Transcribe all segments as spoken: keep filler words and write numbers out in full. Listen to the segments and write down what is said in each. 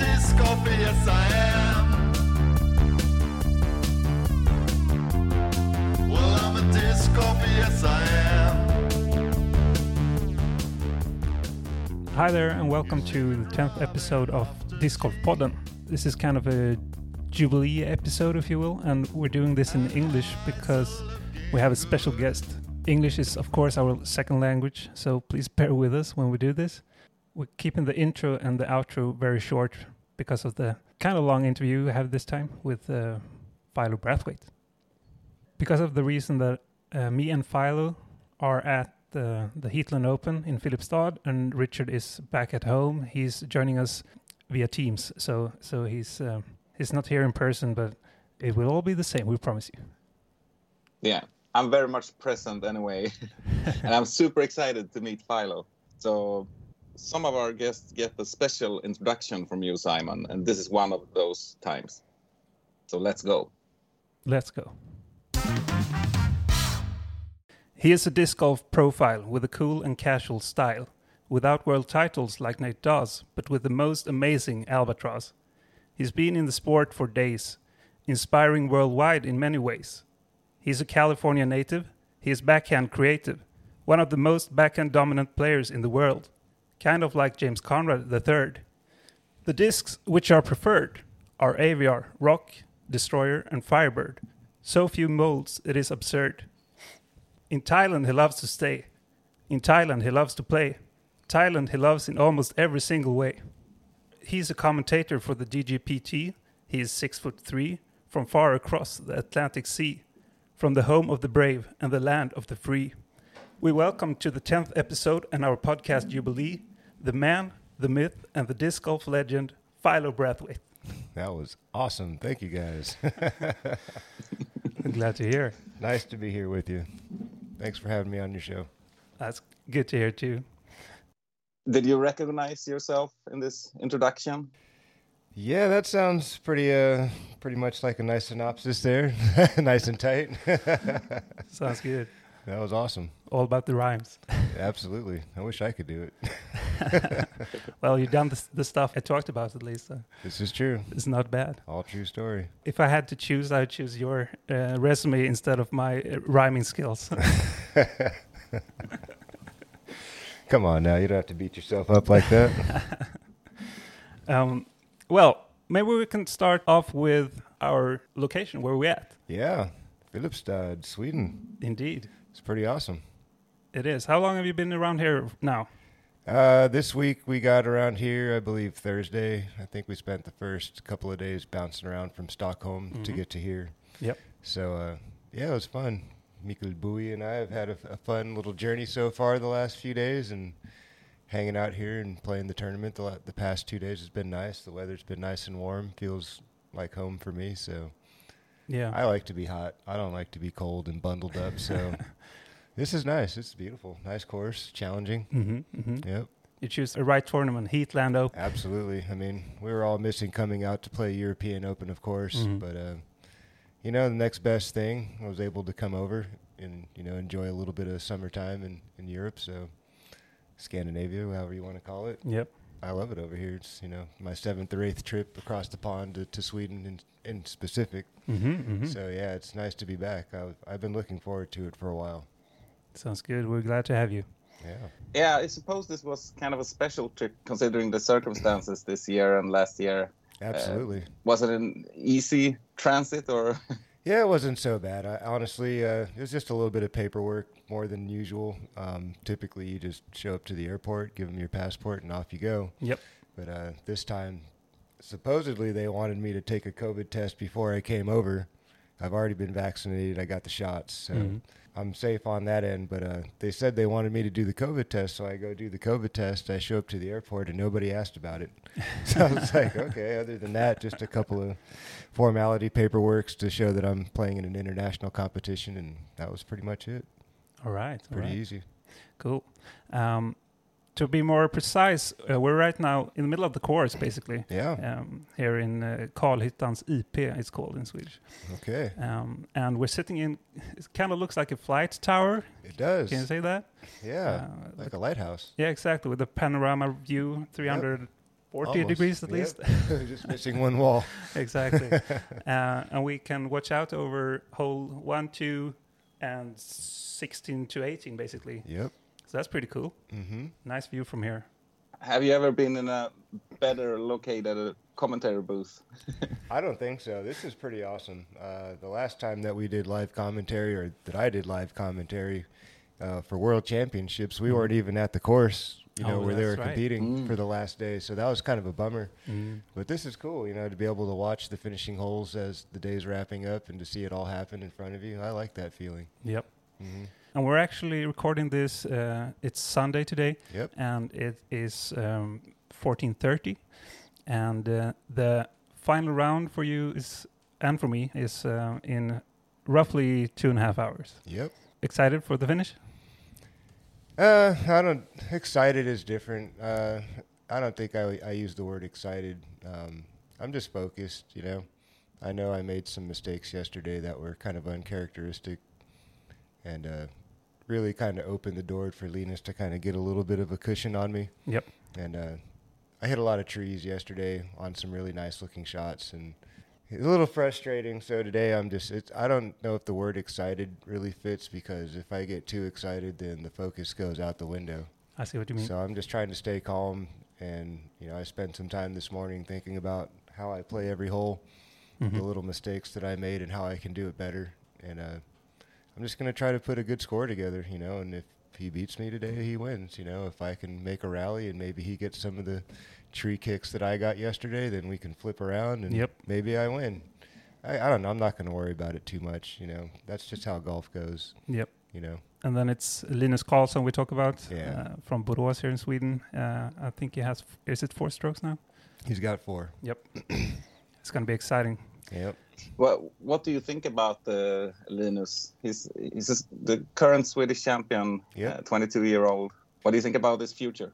disc golfer, yes I am. Well, I'm a disc golfer, yes I am. Hi there, and welcome to the tenth episode of Disc Golf Podden. This is kind of a Jubilee episode, if you will, and we're doing this in English because we have a special guest. English is, of course, our second language, so please bear with us when we do this. We're keeping the intro and the outro very short because of the kind of long interview we have this time with uh, Philo Brathwaite. Because of the reason that uh, me and Philo are at the, the Heatland Open in Filipstad, and Richard is back at home. He's joining us via Teams, so so he's uh, he's not here in person, but it will all be the same, we promise you. Yeah, I'm very much present anyway, and I'm super excited to meet Philo. So some of our guests get a special introduction from you, Simon, and this is one of those times. So let's go. Let's go. He is a disc golf profile with a cool and casual style, without world titles like Nate does, but with the most amazing albatross. He's been in the sport for days, inspiring worldwide in many ways. He's a California native, he is backhand creative, one of the most backhand dominant players in the world, kind of like James Conrad the third. The discs which are preferred are A V R, Rock, Destroyer and Firebird. So few molds it is absurd. In Thailand he loves to stay. In Thailand he loves to play. Thailand he loves in almost every single way. He's a commentator for the D G P T. He is six foot three, from far across the Atlantic Sea, from the home of the brave and the land of the free. We welcome to the tenth episode and our podcast Jubilee, the man, the myth, and the disc golf legend, Philo Brathwaite. That was awesome. Thank you, guys. I'm glad to hear. Nice to be here with you. Thanks for having me on your show. That's good to hear, too. Did you recognize yourself in this introduction? Yeah, that sounds pretty uh, pretty much like a nice synopsis there. Nice and tight. Sounds good. That was awesome. All about the rhymes. Absolutely. I wish I could do it. Well, you've done the, the stuff I talked about, at least. So this is true. it's not bad. All true story. If I had to choose, I would choose your uh, resume instead of my uh, rhyming skills. Come on now. You don't have to beat yourself up like that. um, well, maybe we can start off with our location, where we're at. Yeah. Filipstad, Sweden. Indeed. It's pretty awesome. It is. How long have you been around here now? Uh, this week we got around here, I believe, Thursday. I think we spent the first couple of days bouncing around from Stockholm mm-hmm. to get to here. Yep. So, uh, yeah, it was fun. Mikael Bowie and I have had a, a fun little journey so far the last few days, and hanging out here and playing the tournament the, la- the past two days has been nice. The weather's been nice and warm. Feels like home for me, so yeah. I like to be hot. I don't like to be cold and bundled up, so this is nice. It's beautiful. Nice course, challenging. Mm-hmm, mm-hmm. Yep. You choose the right tournament, Heatland Open. Absolutely. I mean, we were all missing coming out to play European Open, of course, mm-hmm. but uh, you know, the next best thing, I was able to come over and, you know, enjoy a little bit of summertime in, in Europe, so Scandinavia, however you want to call it. Yep. I love it over here. It's, you know, my seventh or eighth trip across the pond to, to Sweden in, in specific. Mm-hmm, mm-hmm. So, yeah, it's nice to be back. I've, I've been looking forward to it for a while. Sounds good. We're glad to have you. Yeah. Yeah, I suppose this was kind of a special trip considering the circumstances this year and last year. Absolutely. Uh, was it an easy transit or? Yeah, it wasn't so bad. I, honestly, uh, it was just a little bit of paperwork more than usual. Um, typically, you just show up to the airport, give them your passport, and off you go. Yep. But uh, this time, supposedly they wanted me to take a COVID test before I came over. I've already been vaccinated. I got the shots, so mm-hmm. I'm safe on that end. But uh, they said they wanted me to do the COVID test, so I go do the COVID test. I show up to the airport, and nobody asked about it. So I was like, okay, other than that, just a couple of formality paperworks to show that I'm playing in an international competition, and that was pretty much it. All right. Pretty all right. easy. Cool. Um, to be more precise, uh, we're right now in the middle of the course, basically. Yeah. Um, here in uh, Karlhyttans I P, it's called in Swedish. Okay. Um, and we're sitting in, it kind of looks like a flight tower. It does. Can you say that? Yeah, Uh, like a lighthouse. Yeah, exactly. With a panorama view, three hundred forty Almost. degrees at Yep. least. Just missing one wall. Exactly. uh, and we can watch out over hole one, two, and sixteen to eighteen, basically. Yep. So that's pretty cool. Mm-hmm. Nice view from here. Have you ever been in a better located commentary booth? I don't think so. This is pretty awesome. Uh, the last time that we did live commentary, or that I did live commentary uh, for World Championships, we weren't even at the course, you know, Oh, where they were that's right. competing Mm. for the last day. So that was kind of a bummer. Mm. But this is cool, you know, to be able to watch the finishing holes as the day's wrapping up and to see it all happen in front of you. I like that feeling. Yep. Mm-hmm. And we're actually recording this. Uh, it's Sunday today, Yep. and it is um, fourteen thirty. And uh, the final round for you is, and for me, is uh, in roughly two and a half hours. Yep. Excited for the finish? Uh, I don't. Excited is different. Uh, I don't think I I use the word excited. Um, I'm just focused. You know, I know I made some mistakes yesterday that were kind of uncharacteristic, and uh, really kind of opened the door for Linus to kind of get a little bit of a cushion on me. Yep. And uh, I hit a lot of trees yesterday on some really nice looking shots, and it's a little frustrating. So today I'm just, it's, I don't know if the word excited really fits, because if I get too excited, then the focus goes out the window. I see what you mean. So I'm just trying to stay calm. And, you know, I spent some time this morning thinking about how I play every hole, Mhm. the little mistakes that I made and how I can do it better. And uh, I'm just going to try to put a good score together, you know, and if he beats me today, he wins. You know, if I can make a rally and maybe he gets some of the tree kicks that I got yesterday, then we can flip around and Yep. maybe I win. I, I don't know. I'm not going to worry about it too much. You know, that's just how golf goes, Yep. you know. And then it's Linus Karlsson we talk about Yeah. uh, from Borås here in Sweden. Uh, I think he has, f- is it four strokes now? He's got four. Yep. It's going to be exciting. Yep. What What do you think about uh, Linus? He's he's just the current Swedish champion, Yep. uh, twenty-two year old. What do you think about his future?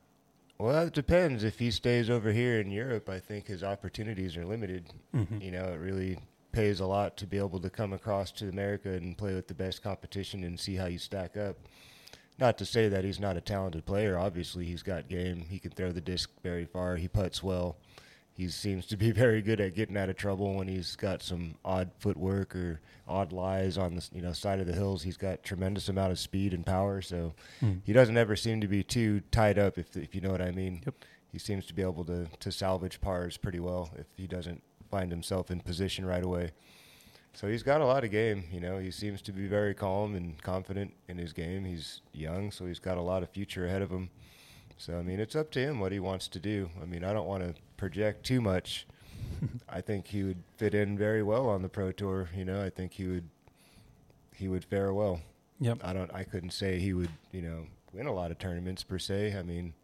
Well, it depends. If he stays over here in Europe, I think his opportunities are limited. Mhm. You know, it really pays a lot to be able to come across to America and play with the best competition and see how you stack up. Not to say that he's not a talented player. Obviously, he's got game. He can throw the disc very far. He putts well. He seems to be very good at getting out of trouble when he's got some odd footwork or odd lies on the you know side of the hills. He's got tremendous amount of speed and power, so Mm. he doesn't ever seem to be too tied up, if if you know what I mean. Yep. He seems to be able to, to salvage pars pretty well if he doesn't find himself in position right away. So he's got a lot of game, you know. He seems to be very calm and confident in his game. He's young, so he's got a lot of future ahead of him. So, I mean, it's up to him what he wants to do. I mean, I don't want to project too much. I think he would fit in very well on the Pro Tour, you know. I think he would he would fare well. Yep. I don't I couldn't say he would, you know, win a lot of tournaments per se. I mean,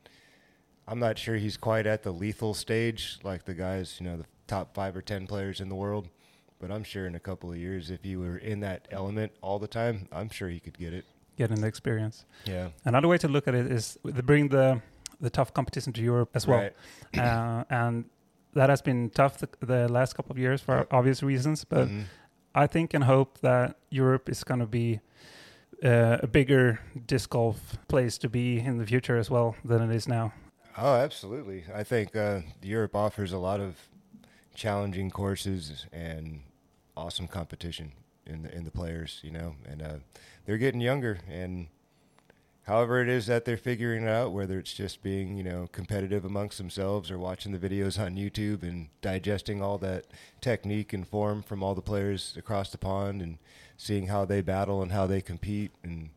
I'm not sure he's quite at the lethal stage like the guys, you know, the top five or ten players in the world. But I'm sure in a couple of years, if he were in that element all the time, I'm sure he could get it. Getting the experience. Yeah. Another way to look at it is to bring the the tough competition to Europe as well. Right. uh, and that has been tough the, the last couple of years for Yep. obvious reasons. But Mhm. I think and hope that Europe is going to be uh, a bigger disc golf place to be in the future as well than it is now. Oh, absolutely. I think uh, Europe offers a lot of challenging courses and awesome competition in the in the players, you know, and uh, they're getting younger. And however it is that they're figuring it out, whether it's just being, you know, competitive amongst themselves or watching the videos on YouTube and digesting all that technique and form from all the players across the pond and seeing how they battle and how they compete. And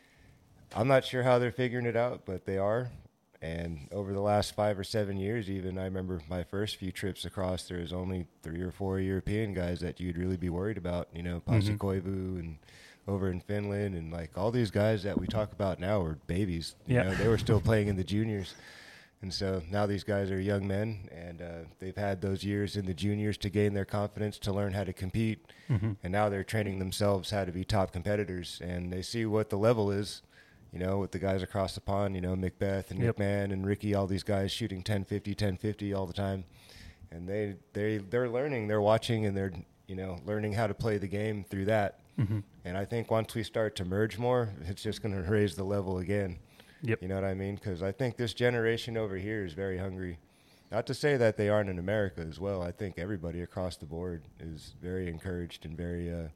I'm not sure how they're figuring it out, but they are. And over the last five or seven years, even, I remember my first few trips across, there was only three or four European guys that you'd really be worried about, you know, Pasi Mhm. Koivu and over in Finland, and like all these guys that we talk about now are babies. You Yeah. know, they were still playing in the juniors. And so now these guys are young men, and uh, they've had those years in the juniors to gain their confidence, to learn how to compete. Mhm. And now they're training themselves how to be top competitors, and they see what the level is. You know, with the guys across the pond, you know, Macbeth and Yep. McMahon and Ricky, all these guys shooting ten fifty, ten fifty all the time. And they, they, they're learning, they're watching, and they're, you know, learning how to play the game through that. Mhm. And I think once we start to merge more, it's just going to raise the level again. Yep. You know what I mean? Because I think this generation over here is very hungry. Not to say that they aren't in America as well. I think everybody across the board is very encouraged and very, uh,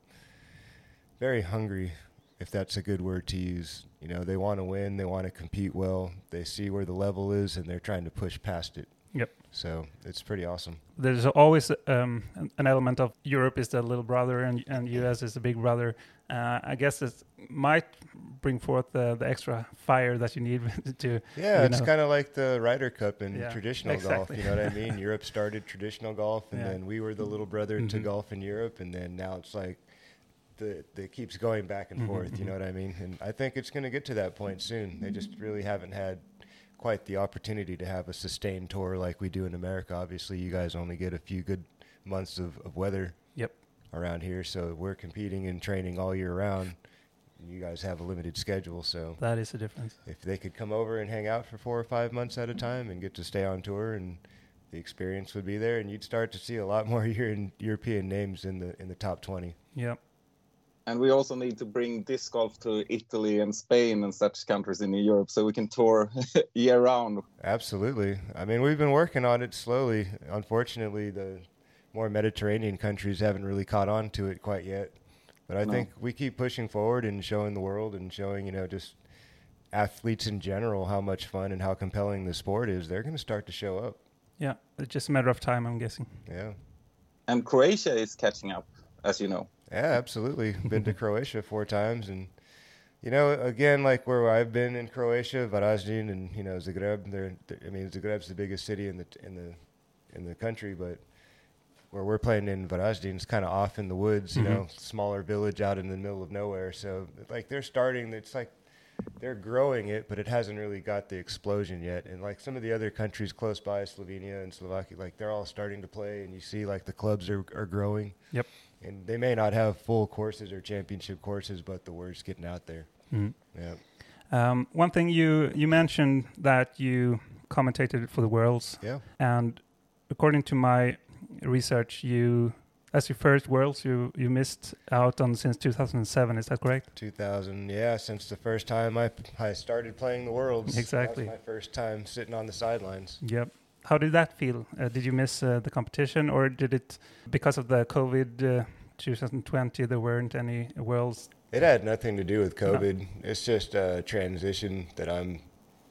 very hungry, if that's a good word to use. You know, they want to win, they want to compete well, they see where the level is, and they're trying to push past it. Yep. So it's pretty awesome. There's always um, an- an element of Europe is the little brother and and U S is the big brother. Uh, I guess it might bring forth the, the extra fire that you need to. Yeah, you it's know. kind of like the Ryder Cup in Yeah, traditional exactly. golf. You know what I mean? Europe started traditional golf, and Yeah. then we were the little brother to Mhm. golf in Europe, and then now it's like the the keeps going back and Mhm, forth. You mhm. know what I mean? And I think it's going to get to that point soon. They just really haven't had quite the opportunity to have a sustained tour like we do in America. Obviously, you guys only get a few good months of, of weather Yep. around here, so we're competing and training all year round. You guys have a limited schedule, so That is the difference. if they could come over and hang out for four or five months at a time and get to stay on tour, and the experience would be there, and you'd start to see a lot more Euro- European names in the in the top twenty. Yep. And we also need to bring disc golf to Italy and Spain and such countries in Europe so we can tour year round. Absolutely. I mean, we've been working on it slowly. Unfortunately, the more Mediterranean countries haven't really caught on to it quite yet. But I No. think we keep pushing forward and showing the world and showing, you know, just athletes in general how much fun and how compelling the sport is. They're going to start to show up. Yeah. It's just a matter of time, I'm guessing. Yeah. And Croatia is catching up, as you know. Yeah, absolutely. Been to Croatia four times, and you know, again, like where I've been in Croatia, Varaždin, and you know, Zagreb. They're, they're, I mean, Zagreb's the biggest city in the in the in the country, but where we're playing in Varaždin is kind of off in the woods. You Mhm. know, smaller village out in the middle of nowhere. So like they're starting. It's like they're growing it, but it hasn't really got the explosion yet. And like some of the other countries close by, Slovenia and Slovakia, like they're all starting to play, and you see like the clubs are are growing. Yep. And they may not have full courses or championship courses, but the word's getting out there. Mhm. Yeah. Um, one thing you you mentioned that you commentated for the Worlds, Yeah. and according to my research, you as your first Worlds you you missed out on since two thousand seven. Is that correct? two thousand, yeah, since the first time I, I started playing the Worlds. Exactly. That was my first time sitting on the sidelines. Yep. How did that feel? Uh, did you miss uh, the competition, or did it because of the COVID uh, twenty twenty? There weren't any Worlds. It had nothing to do with COVID. It's just a transition that I'm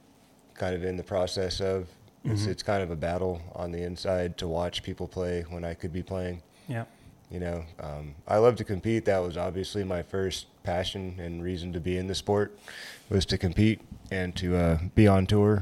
kind of in the process of. It's, Mhm. it's kind of a battle on the inside to watch people play when I could be playing. Yeah. You know, um, I love to compete. That was obviously my first passion and reason to be in the sport, was to compete and to uh, be on tour.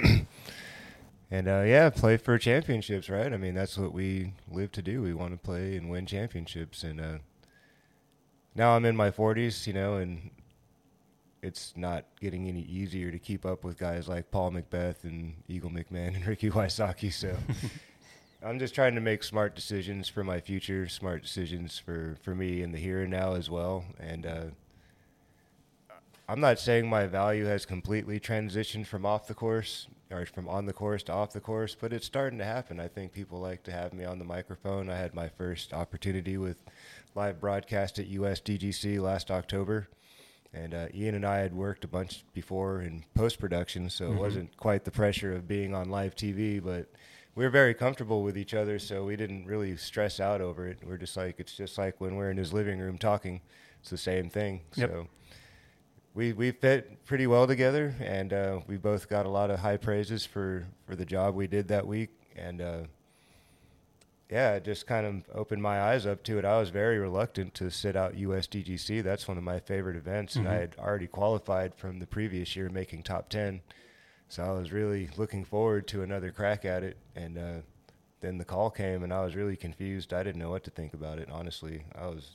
And uh, yeah, play for championships, right? I mean, that's what we live to do. We want to play and win championships. And uh, now I'm in my forties, you know, and it's not getting any easier to keep up with guys like Paul Macbeth and Eagle McMahon and Ricky Wysocki. So I'm just trying to make smart decisions for my future, smart decisions for, for me in the here and now as well. And uh, I'm not saying my value has completely transitioned from off the course or from on the course to off the course, but it's starting to happen. I think people like to have me on the microphone. I had my first opportunity with live broadcast at U S D G C last October. And uh, Ian and I had worked a bunch before in post-production, so Mhm. it wasn't quite the pressure of being on live T V, but we were very comfortable with each other, so we didn't really stress out over it. We're just like, it's just like when we're in his living room talking. It's the same thing. Yep. So we we fit pretty well together, and uh, we both got a lot of high praises for, for the job we did that week. And uh, yeah, it just kind of opened my eyes up to it. I was very reluctant to sit out U S D G C. That's one of my favorite events, and Mhm. I had already qualified from the previous year, making top ten. So I was really looking forward to another crack at it. And uh, then the call came, and I was really confused. I didn't know what to think about it, honestly. I was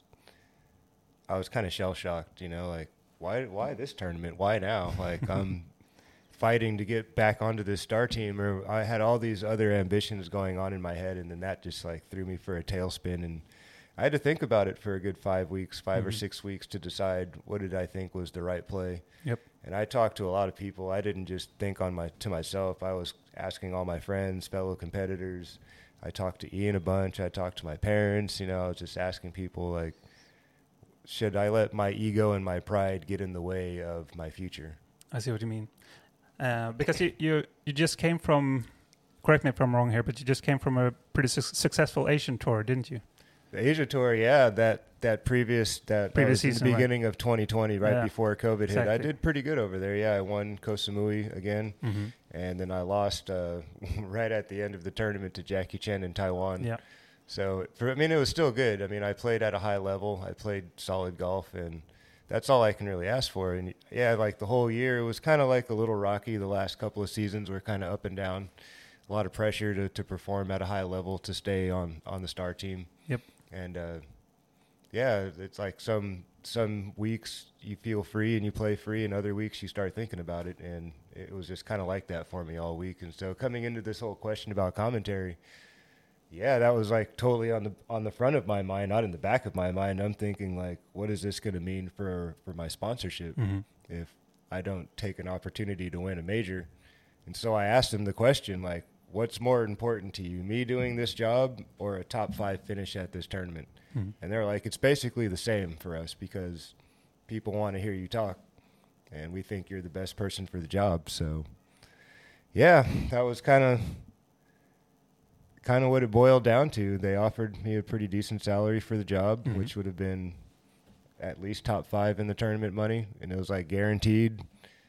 I was kind of shell-shocked, you know, like, why why this tournament? Why now? Like, I'm fighting to get back onto this star team, or I had all these other ambitions going on in my head, and then that just, like, threw me for a tailspin. And I had to think about it for a good five weeks, five or Mhm. six weeks to decide what did I think was the right play. Yep. And I talked to a lot of people. I didn't just think on my to myself. I was asking all my friends, fellow competitors. I talked to Ian a bunch. I talked to my parents. You know, I was just asking people, like, should I let my ego and my pride get in the way of my future? I see what you mean. Uh, because you, you you just came from correct me if I'm wrong here, but you just came from a pretty su- successful Asian tour, didn't you? The Asia Tour, yeah, that that previous that, Previous that was season, in the right. beginning of twenty twenty, right Yeah. before COVID hit. I Exactly. did pretty good over there. Yeah, I won Koh Samui again, Mm-hmm. and then I lost uh, right at the end of the tournament to Jackie Chen in Taiwan. Yeah. So, for, I mean, it was still good. I mean, I played at a high level. I played solid golf, and that's all I can really ask for. And yeah, like the whole year, it was kind of like a little rocky. The last couple of seasons were kind of up and down. A lot of pressure to, to perform at a high level to stay on, on the star team. Yep. And uh, yeah, it's like some some weeks you feel free and you play free, and other weeks you start thinking about it. And it was just kind of like that for me all week. And so coming into this whole question about commentary, yeah, that was like totally on the on the front of my mind, not in the back of my mind. I'm thinking like, what is this going to mean for, for my sponsorship Mm-hmm. if I don't take an opportunity to win a major? And so I asked him the question, like, what's more important to you, me doing this job or a top five finish at this tournament? Mm-hmm. And they're like, it's basically the same for us because people want to hear you talk, and we think you're the best person for the job. So, yeah, that was kind of kind of what it boiled down to. They offered me a pretty decent salary for the job, Mhm. which would have been at least top five in the tournament money, and it was like guaranteed.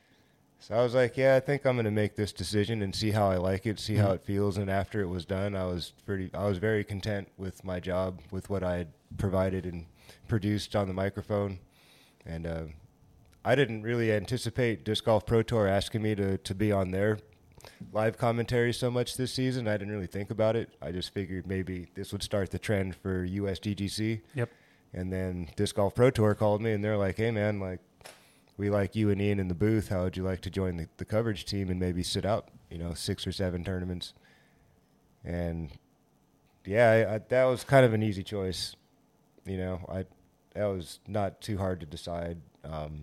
So I was like, yeah, I think I'm going to make this decision and see how I like it, see how Mhm. it feels. And after it was done, I was pretty, I was very content with my job, with what I had provided and produced on the microphone. And uh, I didn't really anticipate Disc Golf Pro Tour asking me to, to be on their live commentary so much this season. I didn't really think about it. I just figured maybe this would start the trend for U S D G C. Yep. And then Disc Golf Pro Tour called me, and they're like, hey, man, like, we like you and Ian in the booth. How would you like to join the, the coverage team and maybe sit out, you know, six or seven tournaments? And, yeah, I, I, that was kind of an easy choice. You know, I that was not too hard to decide um,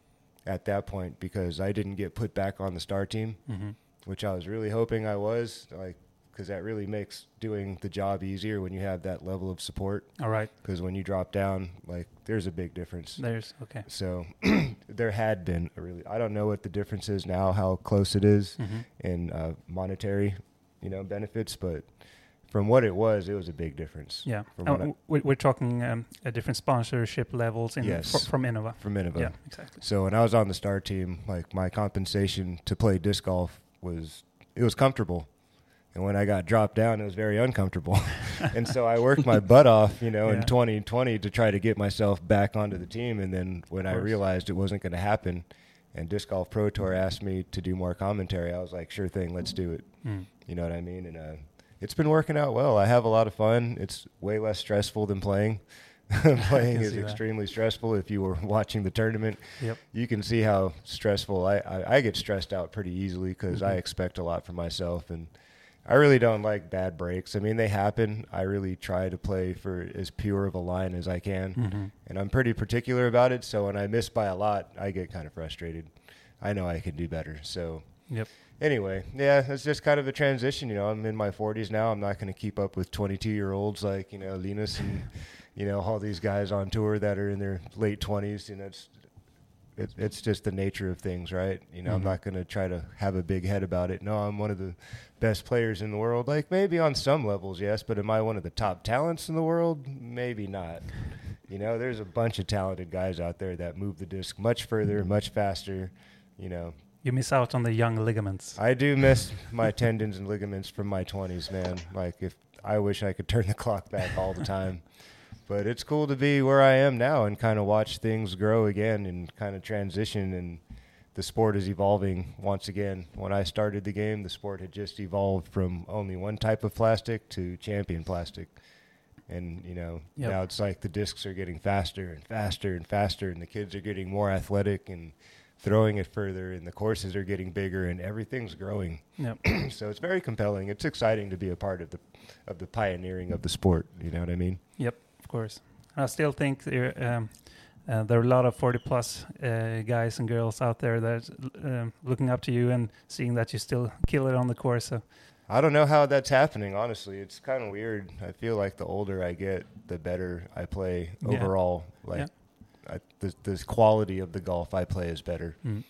at that point because I didn't get put back on the star team, Mm-hmm. which I was really hoping I was, like, because that really makes doing the job easier when you have that level of support. All right. Because when you drop down, like, there's a big difference. There's okay. So there had been a really, I don't know what the difference is now, how close it is Mm-hmm. in uh, monetary, you know, benefits, but from what it was, it was a big difference. Yeah. From Oh, what I- w- we- we're talking um, uh, different sponsorship levels in Yes. fr- from Innova. From Innova. Yeah, exactly. So when I was on the star team, like, my compensation to play disc golf was, it was comfortable. And when I got dropped down, it was very uncomfortable. And so I worked my butt off, you know, Yeah. in twenty twenty to try to get myself back onto the team. And then when I course. realized it wasn't going to happen and Disc Golf Pro Tour asked me to do more commentary, I was like, sure thing, let's do it. Mm. You know what I mean? And uh, it's been working out well. I have a lot of fun. It's way less stressful than playing. Playing can is see that. extremely stressful. If you were watching the tournament, Yep. you can see how stressful I, I, I get stressed out pretty easily because I Mhm. expect a lot from myself, and I really don't like bad breaks. I mean, they happen. I really try to play for as pure of a line as I can, Mm-hmm. and I'm pretty particular about it. So when I miss by a lot, I get kind of frustrated. I know I can do better. So Yep. anyway, yeah, it's just kind of a transition. You know, I'm in my forties now. I'm not going to keep up with twenty-two-year-olds like, you know, Linus and, you know, all these guys on tour that are in their late twenties. You know, it's it, it's just the nature of things, right? You know, Mhm. I'm not going to try to have a big head about it. No, I'm one of the best players in the world. Like, maybe on some levels, yes, but am I one of the top talents in the world? Maybe not. You know, there's a bunch of talented guys out there that move the disc much further, much faster, you know. You miss out on the young ligaments. I do miss my tendons and ligaments from my twenties, man. Like, if I wish I could turn the clock back all the time. But it's cool to be where I am now and kind of watch things grow again and kind of transition, and the sport is evolving once again. When I started the game, the sport had just evolved from only one type of plastic to champion plastic. And, you know, Yep. now it's like the discs are getting faster and faster and faster, and the kids are getting more athletic and throwing it further, and the courses are getting bigger, and everything's growing. Yep. So it's very compelling. It's exciting to be a part of the of the pioneering of the sport. You know what I mean? Yep. Of course. I still think there um, uh, there are a lot of forty plus uh, guys and girls out there that um, looking up to you and seeing that you still kill it on the course. So I don't know how that's happening, honestly. It's kind of weird. I feel like the older I get, the better I play Yeah. overall. Like, Yeah. I, the, the quality of the golf I play is better. mm.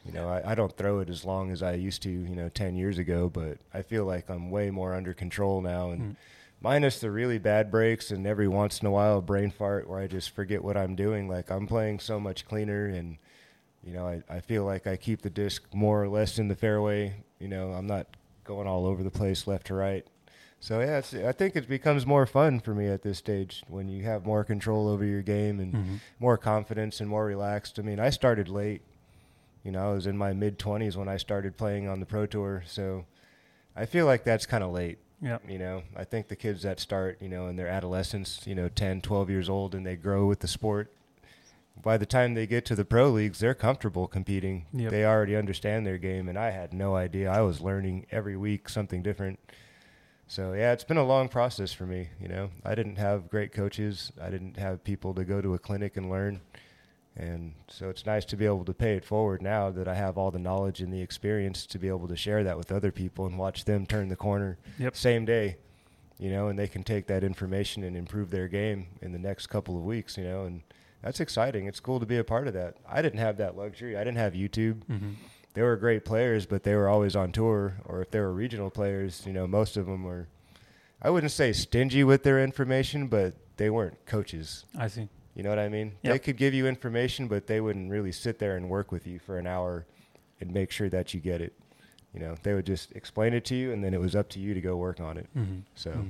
You know, I, I don't throw it as long as I used to, you know, ten years ago, but I feel like I'm way more under control now. And mm. minus the really bad breaks and every once in a while a brain fart where I just forget what I'm doing, like I'm playing so much cleaner. And, you know, I, I feel like I keep the disc more or less in the fairway. You know, I'm not going all over the place left to right. So, yeah, it's, I think it becomes more fun for me at this stage when you have more control over your game and mm-hmm. more confidence and more relaxed. I mean, I started late. You know, I was in my mid-twenties when I started playing on the Pro Tour. So I feel like that's kind of late. Yeah. You know, I think the kids that start, you know, in their adolescence, you know, ten, twelve years old, and they grow with the sport, by the time they get to the pro leagues, they're comfortable competing. Yep. They already understand their game, and I had no idea. I was learning every week something different. So, yeah, it's been a long process for me, you know. I didn't have great coaches. I didn't have people to go to a clinic and learn. And so it's nice to be able to pay it forward now that I have all the knowledge and the experience to be able to share that with other people and watch them turn the corner yep. same day, you know, and they can take that information and improve their game in the next couple of weeks, you know, and that's exciting. It's cool to be a part of that. I didn't have that luxury. I didn't have YouTube. Mm-hmm. They were great players, but they were always on tour, or if they were regional players, you know, most of them were, I wouldn't say stingy with their information, but they weren't coaches. I see. You know what I mean? Yep. They could give you information, but they wouldn't really sit there and work with you for an hour and make sure that you get it. You know, they would just explain it to you, and then it was up to you to go work on it. Mm-hmm. So, mm-hmm.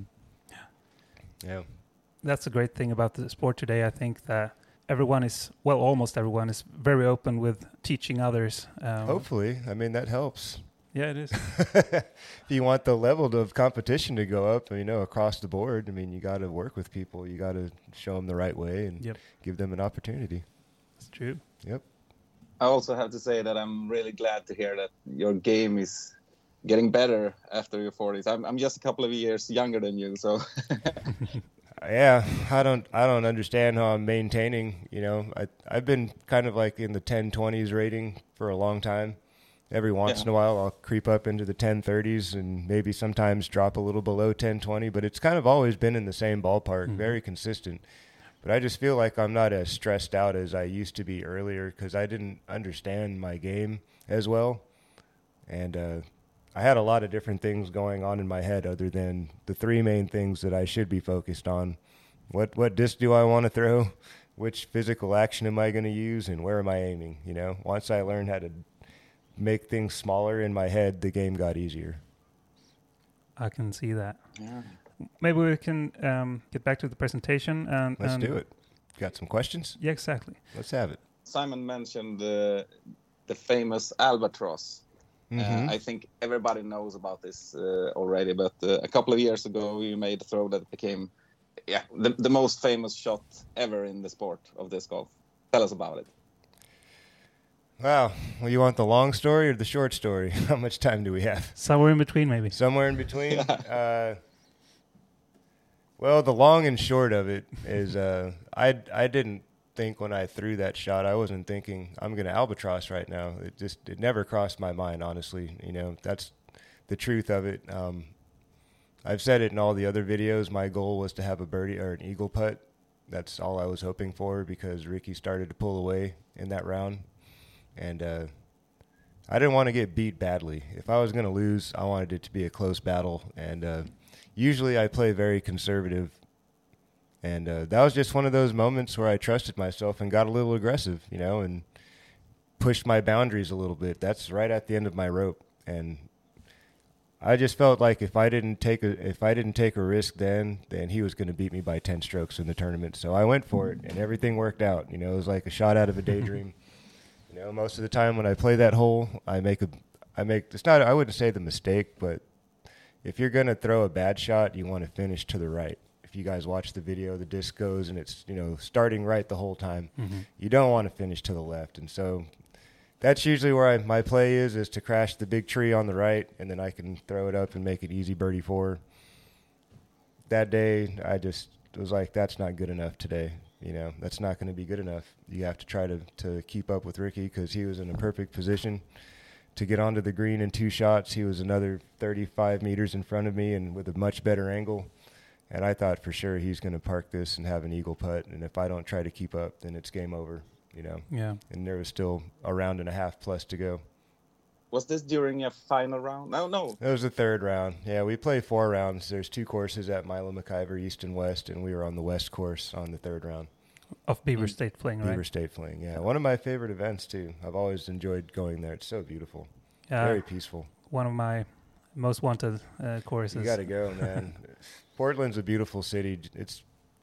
yeah. That's a great thing about the sport today. I think that everyone is, well, almost everyone is very open with teaching others. Um, Hopefully. I mean, that helps. Yeah, it is. If you want the level of competition to go up, you know, across the board, I mean, you got to work with people. You got to show them the right way and yep. give them an opportunity. That's true. Yep. I also have to say that I'm really glad to hear that your game is getting better after your forties. I'm, I'm just a couple of years younger than you, so. Yeah, I don't I don't understand how I'm maintaining, you know. I, I've been kind of like in the ten twenties rating for a long time. Every once yeah. in a while, I'll creep up into the ten thirties and maybe sometimes drop a little below ten twenty, but it's kind of always been in the same ballpark, mm-hmm. very consistent. But I just feel like I'm not as stressed out as I used to be earlier because I didn't understand my game as well. And uh, I had a lot of different things going on in my head other than the three main things that I should be focused on. What what disc do I want to throw? Which physical action am I going to use? And where am I aiming? You know, once I learned how to make things smaller in my head, the game got easier. I can see that. Yeah. Maybe we can um, get back to the presentation. And, Let's and do it. Got some questions? Yeah, exactly. Let's have it. Simon mentioned uh, the famous albatross. Mm-hmm. Uh, I think everybody knows about this uh, already, but uh, a couple of years ago you made a throw that became yeah, the, the most famous shot ever in the sport of disc golf. Tell us about it. Wow. Well, you want the long story or the short story? How much time do we have? Somewhere in between, maybe. Somewhere in between? uh, well, the long and short of it is uh, I, I didn't think when I threw that shot, I wasn't thinking I'm going to albatross right now. It just it never crossed my mind, honestly. You know, that's the truth of it. Um, I've said it in all the other videos. My goal was to have a birdie or an eagle putt. That's all I was hoping for because Ricky started to pull away in that round. And uh, I didn't want to get beat badly. If I was going to lose, I wanted it to be a close battle. And uh, usually I play very conservative. And uh, that was just one of those moments where I trusted myself and got a little aggressive, you know, and pushed my boundaries a little bit. That's right at the end of my rope. And I just felt like if I didn't take a if I didn't take a risk then, then he was going to beat me by ten strokes in the tournament. So I went for it, and everything worked out. You know, it was like a shot out of a daydream. You know, most of the time when I play that hole, I make a, I make, it's not, I wouldn't say the mistake, but if you're going to throw a bad shot, you want to finish to the right. If you guys watch the video, the disc goes and it's, you know, starting right the whole time. Mm-hmm. You don't want to finish to the left. And so that's usually where I, my play is, is to crash the big tree on the right, and then I can throw it up and make it easy birdie four. That day, I just was like, that's not good enough today. You know, that's not going to be good enough. You have to try to, to keep up with Ricky because he was in a perfect position to get onto the green in two shots. He was another thirty-five meters in front of me and with a much better angle. And I thought for sure he's going to park this and have an eagle putt. And if I don't try to keep up, then it's game over. you know. Yeah. And there was still a round and a half plus to go. Was this during a final round? No, no. It was the third round. Yeah, we play four rounds. There's two courses at Milo McIver, East and West, and we were on the West course on the third round. Of Beaver State Fling, right? Beaver State Fling, yeah. One of my favorite events, too. I've always enjoyed going there. It's so beautiful. Uh, Very peaceful. One of my most wanted uh, courses. You got to go, man. Portland's a beautiful city. It's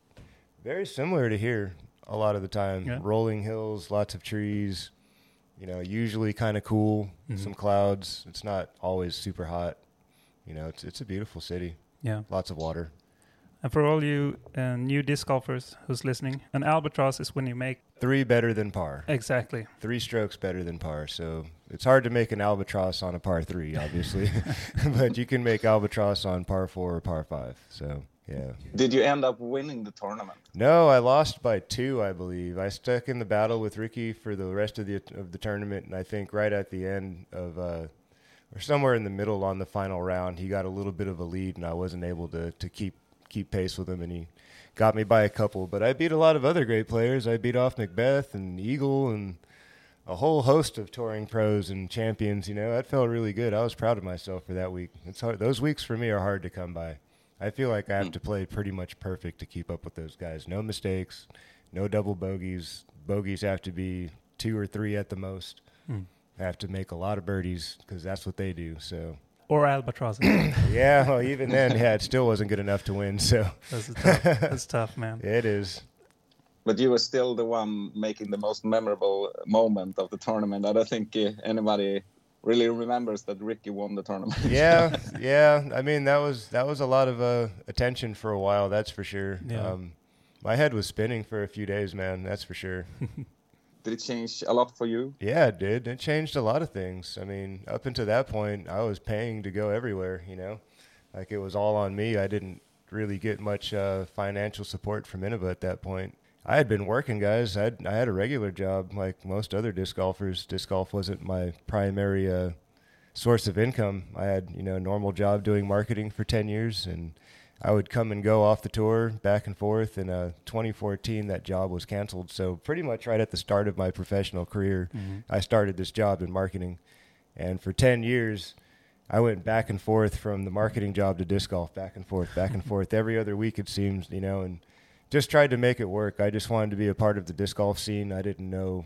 very similar to here a lot of the time. Yeah. Rolling hills, lots of trees, you know, usually kind of cool, Mhm. some clouds. It's not always super hot. You know, it's it's a beautiful city. Yeah. Lots of water. And for all you uh, new disc golfers who's listening, an albatross is when you make... Three better than par. Exactly. Three strokes better than par. So it's hard to make an albatross on a par three, obviously. But you can make albatross on par four or par five. So, yeah. Did you end up winning the tournament? No, I lost by two, I believe. I stuck in the battle with Ricky for the rest of the of the tournament, and I think right at the end of, uh, or somewhere in the middle on the final round, he got a little bit of a lead, and I wasn't able to, to keep keep pace with him, and he got me by a couple. But I beat a lot of other great players. I beat off Macbeth and Eagle and a whole host of touring pros and champions. You know, that felt really good. I was proud of myself for that week. It's hard. Those weeks for me are hard to come by. I feel like I have to play pretty much perfect to keep up with those guys. No mistakes, no double bogeys. Bogeys have to be two or three at the most. Mm. I have to make a lot of birdies because that's what they do. So, Or albatrosses. yeah, well, even then, yeah, it still wasn't good enough to win. So That's tough. That's tough, man. it is. But you were still the one making the most memorable moment of the tournament. I don't think uh, anybody really remembers that Ricky won the tournament. Yeah, yeah. I mean, that was that was a lot of uh, attention for a while. That's for sure. Yeah. Um, my head was spinning for a few days, man. That's for sure. Did it change a lot for you? Yeah, it did. It changed a lot of things. I mean, up until that point, I was paying to go everywhere, you know. Like, it was all on me. I didn't really get much uh, financial support from Innova at that point. I had been working, guys. I had, I had a regular job like most other disc golfers. Disc golf wasn't my primary uh, source of income. I had, you know, a normal job doing marketing for ten years, and I would come and go off the tour back and forth. In uh, twenty fourteen, that job was canceled. So pretty much right at the start of my professional career, Mm-hmm. I started this job in marketing. And for ten years, I went back and forth from the marketing job to disc golf, back and forth, back and forth. Every other week, it seems, you know, and just tried to make it work. I just wanted to be a part of the disc golf scene. I didn't know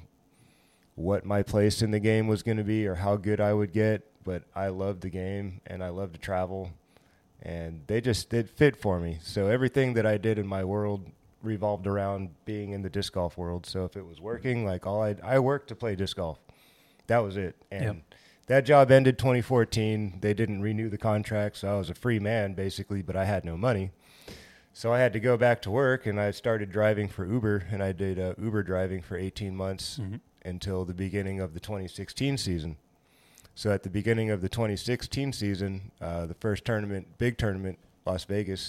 what my place in the game was going to be or how good I would get, but I loved the game and I loved to travel. And they just did fit for me. So everything that I did in my world revolved around being in the disc golf world. So if it was working, like all I I worked to play disc golf. That was it. And Yep. that job ended twenty fourteen. They didn't renew the contract, so I was a free man basically, but I had no money. So I had to go back to work, and I started driving for Uber, and I did uh, Uber driving for eighteen months Mm-hmm. until the beginning of the twenty sixteen season. So at the beginning of the twenty sixteen season, uh, the first tournament, big tournament, Las Vegas,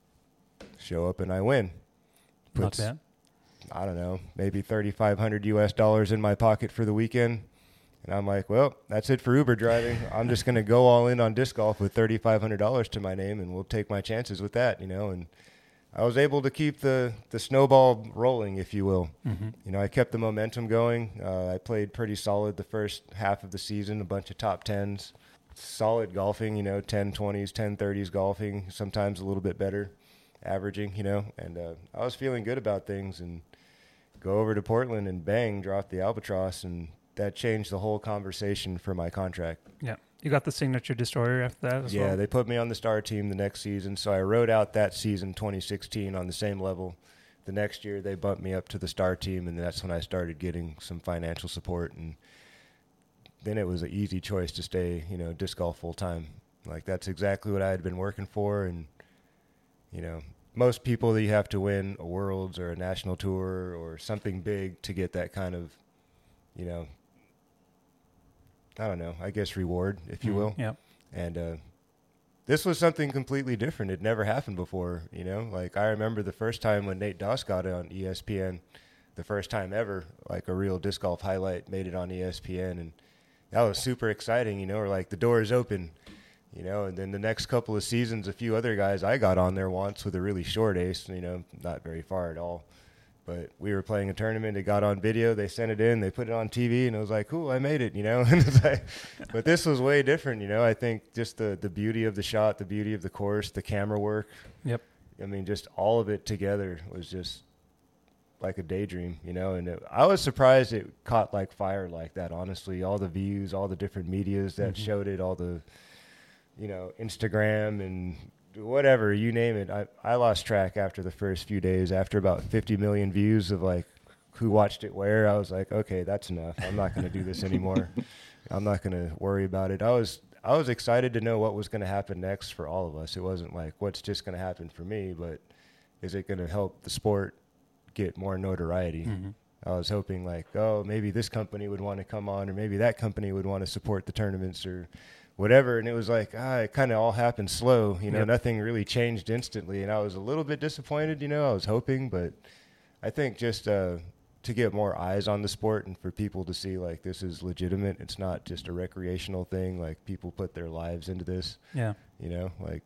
show up and I win. Not Puts, bad. I don't know, maybe thirty-five hundred U S dollars in my pocket for the weekend. And I'm like, well, that's it for Uber driving. I'm just going to go all in on disc golf with thirty-five hundred dollars to my name, and we'll take my chances with that, you know. And I was able to keep the, the snowball rolling, if you will. Mm-hmm. You know, I kept the momentum going. Uh, I played pretty solid the first half of the season, a bunch of top tens. Solid golfing, you know, ten twenties, ten thirties golfing, sometimes a little bit better, averaging, you know. And uh, I was feeling good about things, and go over to Portland and bang, drop the albatross, and that changed the whole conversation for my contract. Yeah. You got the signature destroyer after that as yeah, well? they put me on the star team the next season, so I rode out that season, twenty sixteen, on the same level. The next year, they bumped me up to the star team, and that's when I started getting some financial support, and then it was an easy choice to stay, you know, disc golf full time. Like, that's exactly what I had been working for, and, you know, most people, that you have to win a Worlds or a national tour or something big to get that kind of, you know, I don't know, I guess reward, if you Mhm. will. Yeah. And uh, this was something completely different. It never happened before, you know. Like, I remember the first time when Nate Doss got it on E S P N, the first time ever, like a real disc golf highlight made it on E S P N, and that was super exciting, you know. Or like, the door is open, you know. And then the next couple of seasons, a few other guys I got on there once with a really short ace, you know, not very far at all. But we were playing a tournament. It got on video. They sent it in. They put it on T V, and it was like, cool, I made it, you know. And it's like, but this was way different, you know. I think just the, the beauty of the shot, the beauty of the course, the camera work. Yep. I mean, just all of it together was just like a daydream, you know. And it, I was surprised it caught like fire like that, honestly. All the views, all the different medias that mm-hmm. showed it, all the, you know, Instagram and whatever, you name it. I, I lost track after the first few days. After about fifty million views of like who watched it where, I was like, okay, that's enough. I'm not going to do this anymore. I'm not going to worry about it. I was I was excited to know what was going to happen next for all of us. It wasn't like what's just going to happen for me, but is it going to help the sport get more notoriety? Mm-hmm. I was hoping like, oh, maybe this company would want to come on, or maybe that company would want to support the tournaments or whatever. And it was like, ah, it kind of all happened slow, you know, yep. Nothing really changed instantly. And I was a little bit disappointed, you know, I was hoping, but I think just uh, to get more eyes on the sport and for people to see like this is legitimate. It's not just a recreational thing. Like people put their lives into this, yeah, you know, like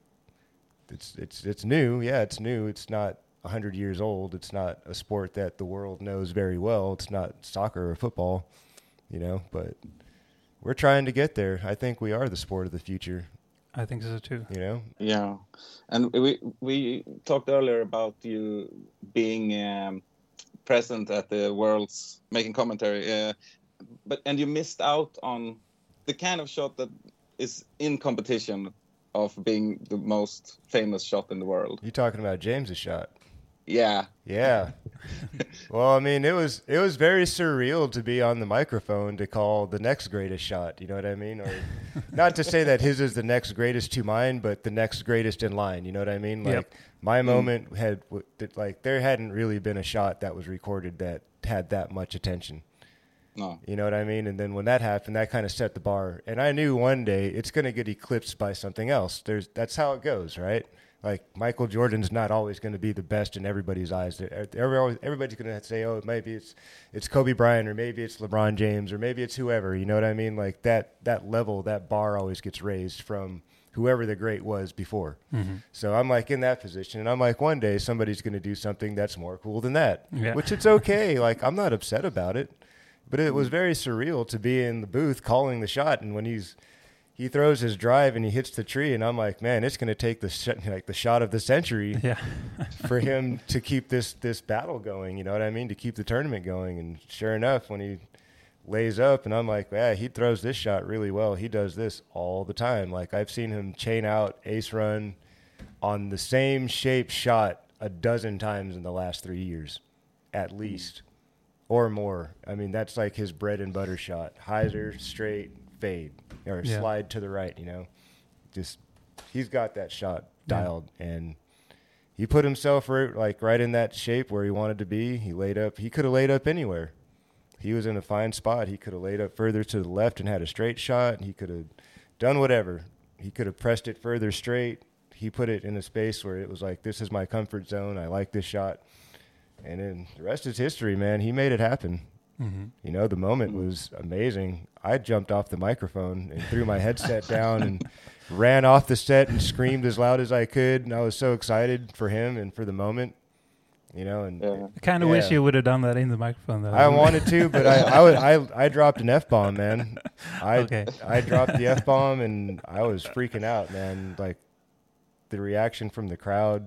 it's, it's, it's new. Yeah. It's new. It's not a hundred years old. It's not a sport that the world knows very well. It's not soccer or football, you know, but we're trying to get there. I think we are the sport of the future. I think so too. You know? Yeah. And we we talked earlier about you being um, present at the Worlds, making commentary, uh, but and you missed out on the kind of shot that is in competition of being the most famous shot in the world. You talking about James's shot? Yeah. Yeah. Well, I mean, it was it was very surreal to be on the microphone to call the next greatest shot. You know what I mean? Or not to say that his is the next greatest to mine, but the next greatest in line. You know what I mean? Like yep. my mm. moment had like there hadn't really been a shot that was recorded that had that much attention. No. You know what I mean? And then when that happened, that kind of set the bar. And I knew one day it's going to get eclipsed by something else. There's that's how it goes, right? Like Michael Jordan's not always going to be the best in everybody's eyes. Everybody's going to say, "Oh, maybe it's it's Kobe Bryant, or maybe it's LeBron James, or maybe it's whoever." You know what I mean? Like that that level, that bar always gets raised from whoever the great was before. Mm-hmm. So I'm like in that position, and I'm like, one day somebody's going to do something that's more cool than that, yeah. Which it's okay. Like I'm not upset about it, but it was very surreal to be in the booth calling the shot, and when he's He throws his drive and he hits the tree, and I'm like, man, it's going to take the sh- like the shot of the century yeah. for him to keep this this battle going. You know what I mean? To keep the tournament going. And sure enough, when he lays up, and I'm like, yeah, he throws this shot really well. He does this all the time. Like I've seen him chain out, ace run on the same shape shot a dozen times in the last three years, at least, or more. I mean, that's like his bread and butter shot. Hyzer, straight, fade. Or yeah. slide to the right, you know. Just he's got that shot dialed, yeah. And he put himself right, like right in that shape where he wanted to be. He laid up. He could have laid up anywhere. He was in a fine spot. He could have laid up further to the left and had a straight shot. He could have done whatever. He could have pressed it further straight. He put it in a space where it was like, this is my comfort zone. I like this shot. And then the rest is history, man. He made it happen. Mm-hmm. You know, the moment was amazing. I jumped off the microphone and threw my headset down and ran off the set and screamed as loud as I could. And I was so excited for him and for the moment, you know. And yeah. I kind of yeah. wish you would have done that in the microphone, though. I wanted to, but I I, would, I I dropped an F-bomb, man. I okay. I dropped the F-bomb, and I was freaking out, man. Like the reaction from the crowd.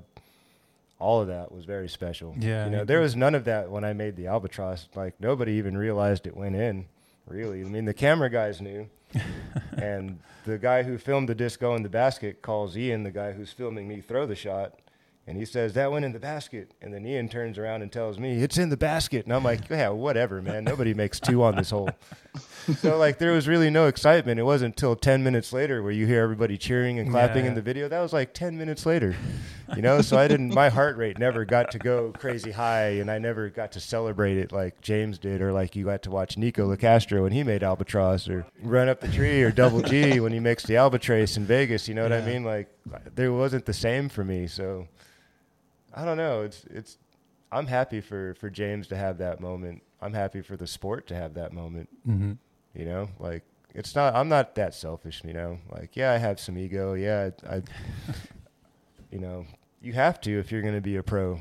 All of that was very special. Yeah, you know, there was none of that when I made the Albatross. Like nobody even realized it went in. Really, I mean, the camera guys knew, and the guy who filmed the disc go in the basket calls Ian, the guy who's filming me, throw the shot, and he says that went in the basket. And then Ian turns around and tells me it's in the basket, and I'm like, yeah, whatever, man. Nobody makes two on this hole. So like, there was really no excitement. It wasn't until ten minutes later where you hear everybody cheering and clapping yeah. in the video. That was like ten minutes later, you know. So I didn't. My heart rate never got to go crazy high, and I never got to celebrate it like James did, or like you got to watch Nico Locastro when he made Albatross, or Run Up the Tree, or Double G when he mixed the Albatrace in Vegas. You know what yeah. I mean? Like there wasn't the same for me. So I don't know. It's it's. I'm happy for, for James to have that moment. I'm happy for the sport to have that moment. Mm-hmm. You know, like it's not, I'm not that selfish, you know, like, yeah, I have some ego. Yeah. I, I you know, you have to, if you're going to be a pro,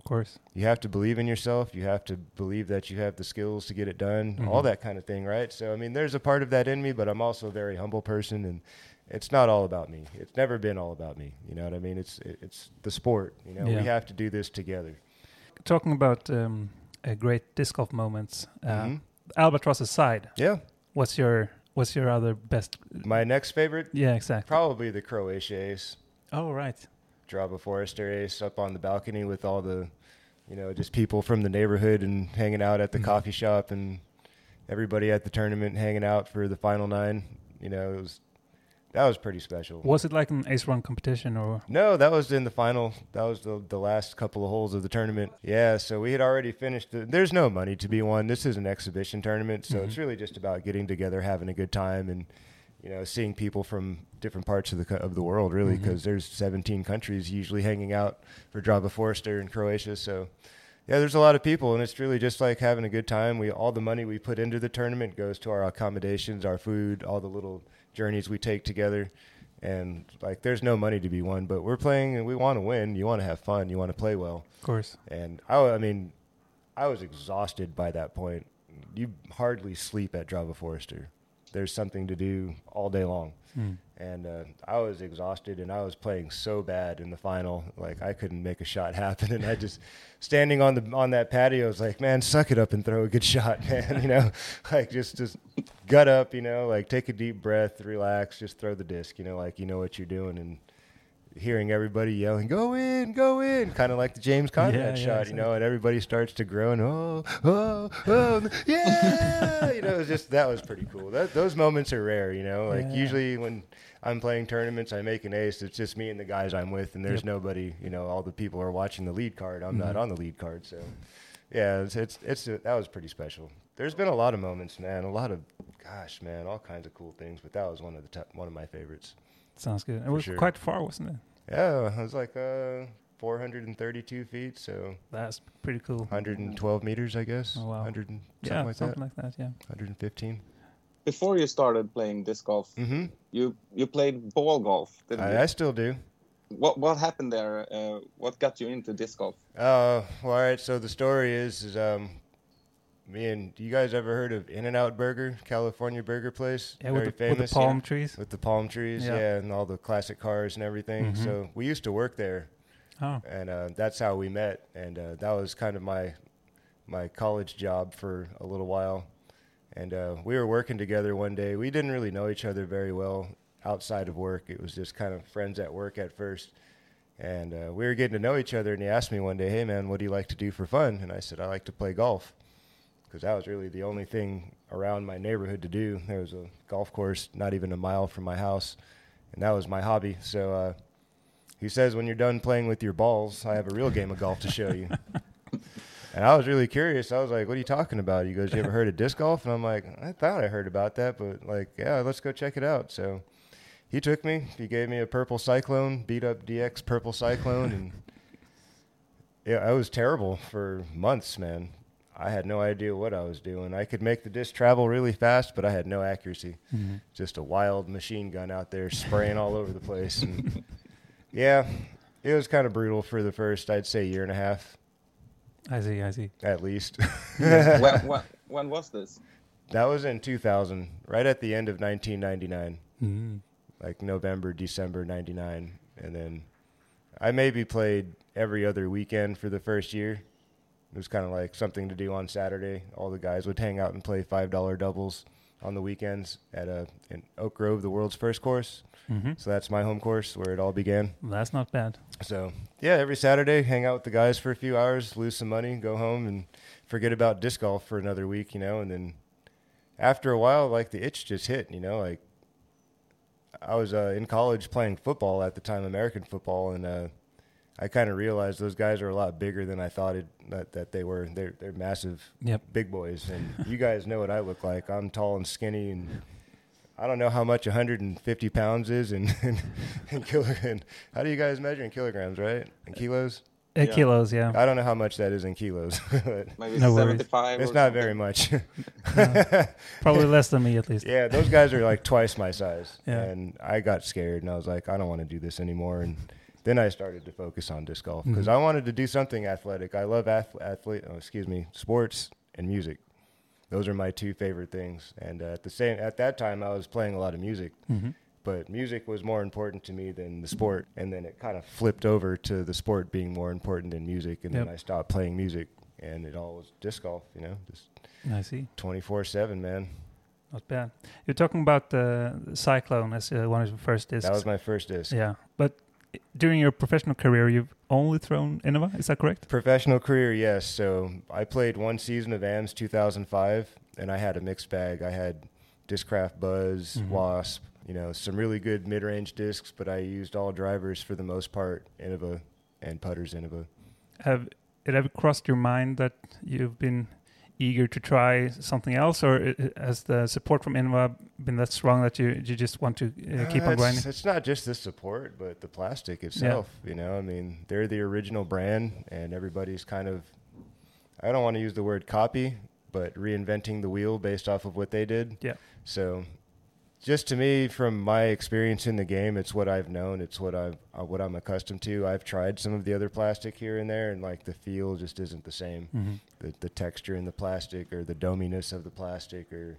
Of course. You have to believe in yourself. You have to believe that you have the skills to get it done, mm-hmm. all that kind of thing, right? So, I mean, there's a part of that in me, but I'm also a very humble person, and it's not all about me. It's never been all about me. You know what I mean? It's it's the sport. You know, yeah. we have to do this together. Talking about um, uh, great disc golf moments, uh, mm-hmm. Albatross aside, yeah. What's your What's your other best? My next favorite? Yeah, exactly. Probably the Croatia Ace. Oh, right. Drava Forester Ace up on the balcony with all the, you know, just people from the neighborhood and hanging out at the mm-hmm. coffee shop and everybody at the tournament hanging out for the final nine. You know, it was that was pretty special. Was it like an ace run competition or? No, that was in the final. That was the the last couple of holes of the tournament. Yeah, so we had already finished. The, there's no money to be won. This is an exhibition tournament, so mm-hmm. it's really just about getting together, having a good time, and you know, seeing people from different parts of the co- of the world, really, because mm-hmm. there's seventeen countries usually hanging out for Drava Forester in Croatia. So, yeah, there's a lot of people, and it's really just like having a good time. We all the money we put into the tournament goes to our accommodations, our food, all the little journeys we take together, and like there's no money to be won, but we're playing and we want to win. You want to have fun. You want to play well. Of course. And I, I mean, I was exhausted by that point. You hardly sleep at Drava Forester. There's something to do all day long. Mm. And uh, I was exhausted, and I was playing so bad in the final. Like, I couldn't make a shot happen. And I just, standing on the on that patio, I was like, man, suck it up and throw a good shot, man. You know, like, just, just gut up, you know, like, take a deep breath, relax, just throw the disc, you know, like, you know what you're doing. And hearing everybody yelling, go in, go in, kind of like the James Conrad yeah, yeah, shot, exactly. you know, and everybody starts to groan, oh, oh, oh, yeah, you know, it was just, that was pretty cool. That, those moments are rare, you know, like yeah. usually when I'm playing tournaments, I make an ace, it's just me and the guys I'm with, and there's yep. nobody, you know, all the people are watching the lead card, I'm mm-hmm. not on the lead card, so yeah, it's, it's, it's, that was pretty special. There's been a lot of moments, man, a lot of, gosh, man, all kinds of cool things, but that was one of the top, one of my favorites. Sounds good. It was sure. quite far, wasn't it? Yeah, it was like uh, four hundred thirty-two feet, so that's pretty cool. one hundred twelve meters, I guess. Oh, wow. one hundred and yeah, something like something that. like that, yeah. one hundred fifteen. Before you started playing disc golf, mm-hmm. you you played ball golf, didn't I, you? I still do. What what happened there? Uh, what got you into disc golf? Uh, well, all right. So the story is, is um, me and you guys ever heard of In-N-Out Burger, California burger place? Yeah, Very with the, famous. with the palm yeah. trees. With the palm trees, yeah. yeah, and all the classic cars and everything. Mm-hmm. So we used to work there, oh. and uh, that's how we met. And uh, that was kind of my my college job for a little while. And uh, we were working together one day. We didn't really know each other very well outside of work. It was just kind of friends at work at first. And uh, we were getting to know each other, and he asked me one day, hey, man, what do you like to do for fun? And I said, I like to play golf, because that was really the only thing around my neighborhood to do. There was a golf course not even a mile from my house, and that was my hobby. So uh, he says, when you're done playing with your balls, I have a real game of golf to show you. And I was really curious. I was like, what are you talking about? He goes, you ever heard of disc golf? And I'm like, I thought I heard about that, but like, yeah, let's go check it out. So he took me. He gave me a purple Cyclone, beat up D X purple Cyclone. And yeah, I was terrible for months, man. I had no idea what I was doing. I could make the disc travel really fast, but I had no accuracy. Mm-hmm. Just a wild machine gun out there spraying all over the place. And yeah, it was kind of brutal for the first, I'd say, year and a half. I see, I see. At least. when, when, when was this? That was in two thousand, right at the end of nineteen ninety-nine. Mm-hmm. Like November, December ninety-nine. And then I maybe played every other weekend for the first year. It was kind of like something to do on Saturday. All the guys would hang out and play five dollar doubles on the weekends at a, in Oak Grove, the world's first course. Mm-hmm. So that's my home course where it all began. That's not bad. So, yeah, every Saturday, hang out with the guys for a few hours, lose some money, go home, and forget about disc golf for another week, you know. And then after a while, like, the itch just hit, you know. Like, I was uh, in college playing football at the time, American football, and uh, I kind of realized those guys are a lot bigger than I thought it, that, that they were. They're, they're massive, yep. big boys. And you guys know what I look like. I'm tall and skinny, and I don't know how much one hundred fifty pounds is in, in, in kilograms. How do you guys measure in kilograms, right? In kilos? Uh, yeah. Kilos, yeah. I don't know how much that is in kilos. Maybe no seventy-five. It's or not something. very much. No, probably less than me, at least. Yeah, those guys are like twice my size. Yeah. And I got scared, and I was like, I don't want to do this anymore. And then I started to focus on disc golf because Mhm. I wanted to do something athletic. I love ath- athlete, oh, excuse me, sports and music. Those are my two favorite things. And uh, at the same at that time, I was playing a lot of music, hmm but music was more important to me than the sport. And then it kind of flipped over to the sport being more important than music. And Yep. then I stopped playing music, and it all was disc golf. You know, just I see. twenty-four seven, man. Not bad. You're talking about the Cyclone as uh, one of your first discs. That was my first disc. Yeah, but i- during your professional career, you've only thrown Innova. Is that correct? Professional career, yes. So I played one season of A M S two thousand five, and I had a mixed bag. I had Discraft Buzz, Mhm. Wasp, you know, some really good mid-range discs, but I used all drivers for the most part, Innova and putters Innova. Have it ever crossed your mind that you've been eager to try something else, or i- i- has the support from Innova been that strong that you you just want to uh, keep Uh, on it's, grinding? it's not just the support, but the plastic itself. You know, I mean, they're the original brand, and everybody's kind of, I don't want to use the word copy, but reinventing the wheel based off of what they did. Yeah. So, just to me, from my experience in the game, it's what I've known. It's what I've uh, what I'm accustomed to. I've tried some of the other plastic here and there, and like the feel just isn't the same. Mhm. The the texture in the plastic, or the dominess of the plastic, or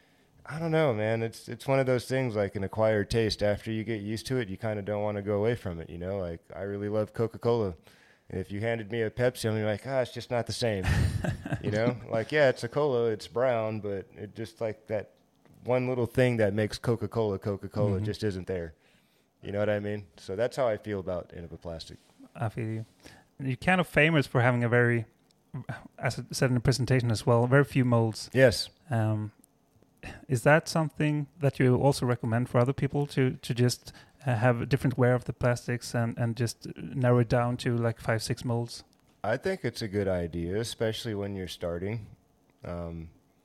I don't know, man. It's it's one of those things like an acquired taste. After you get used to it, you kind of don't want to go away from it. You know, like I really love Coca-Cola. And if you handed me a Pepsi, I'm like, ah, it's just not the same. You know, like, yeah, it's a cola, it's brown, but it just like that one little thing that makes Coca-Cola Coca-Cola Mhm. just isn't there. You know what I mean? So that's how I feel about Innova Plastic. I feel you. You're kind of famous for having a very, as I said in the presentation as well, very few molds. Yes. Um, is that something that you also recommend for other people to to just uh, have a different wear of the plastics and, and just narrow it down to like five, six molds? I think it's a good idea, especially when you're starting. Um,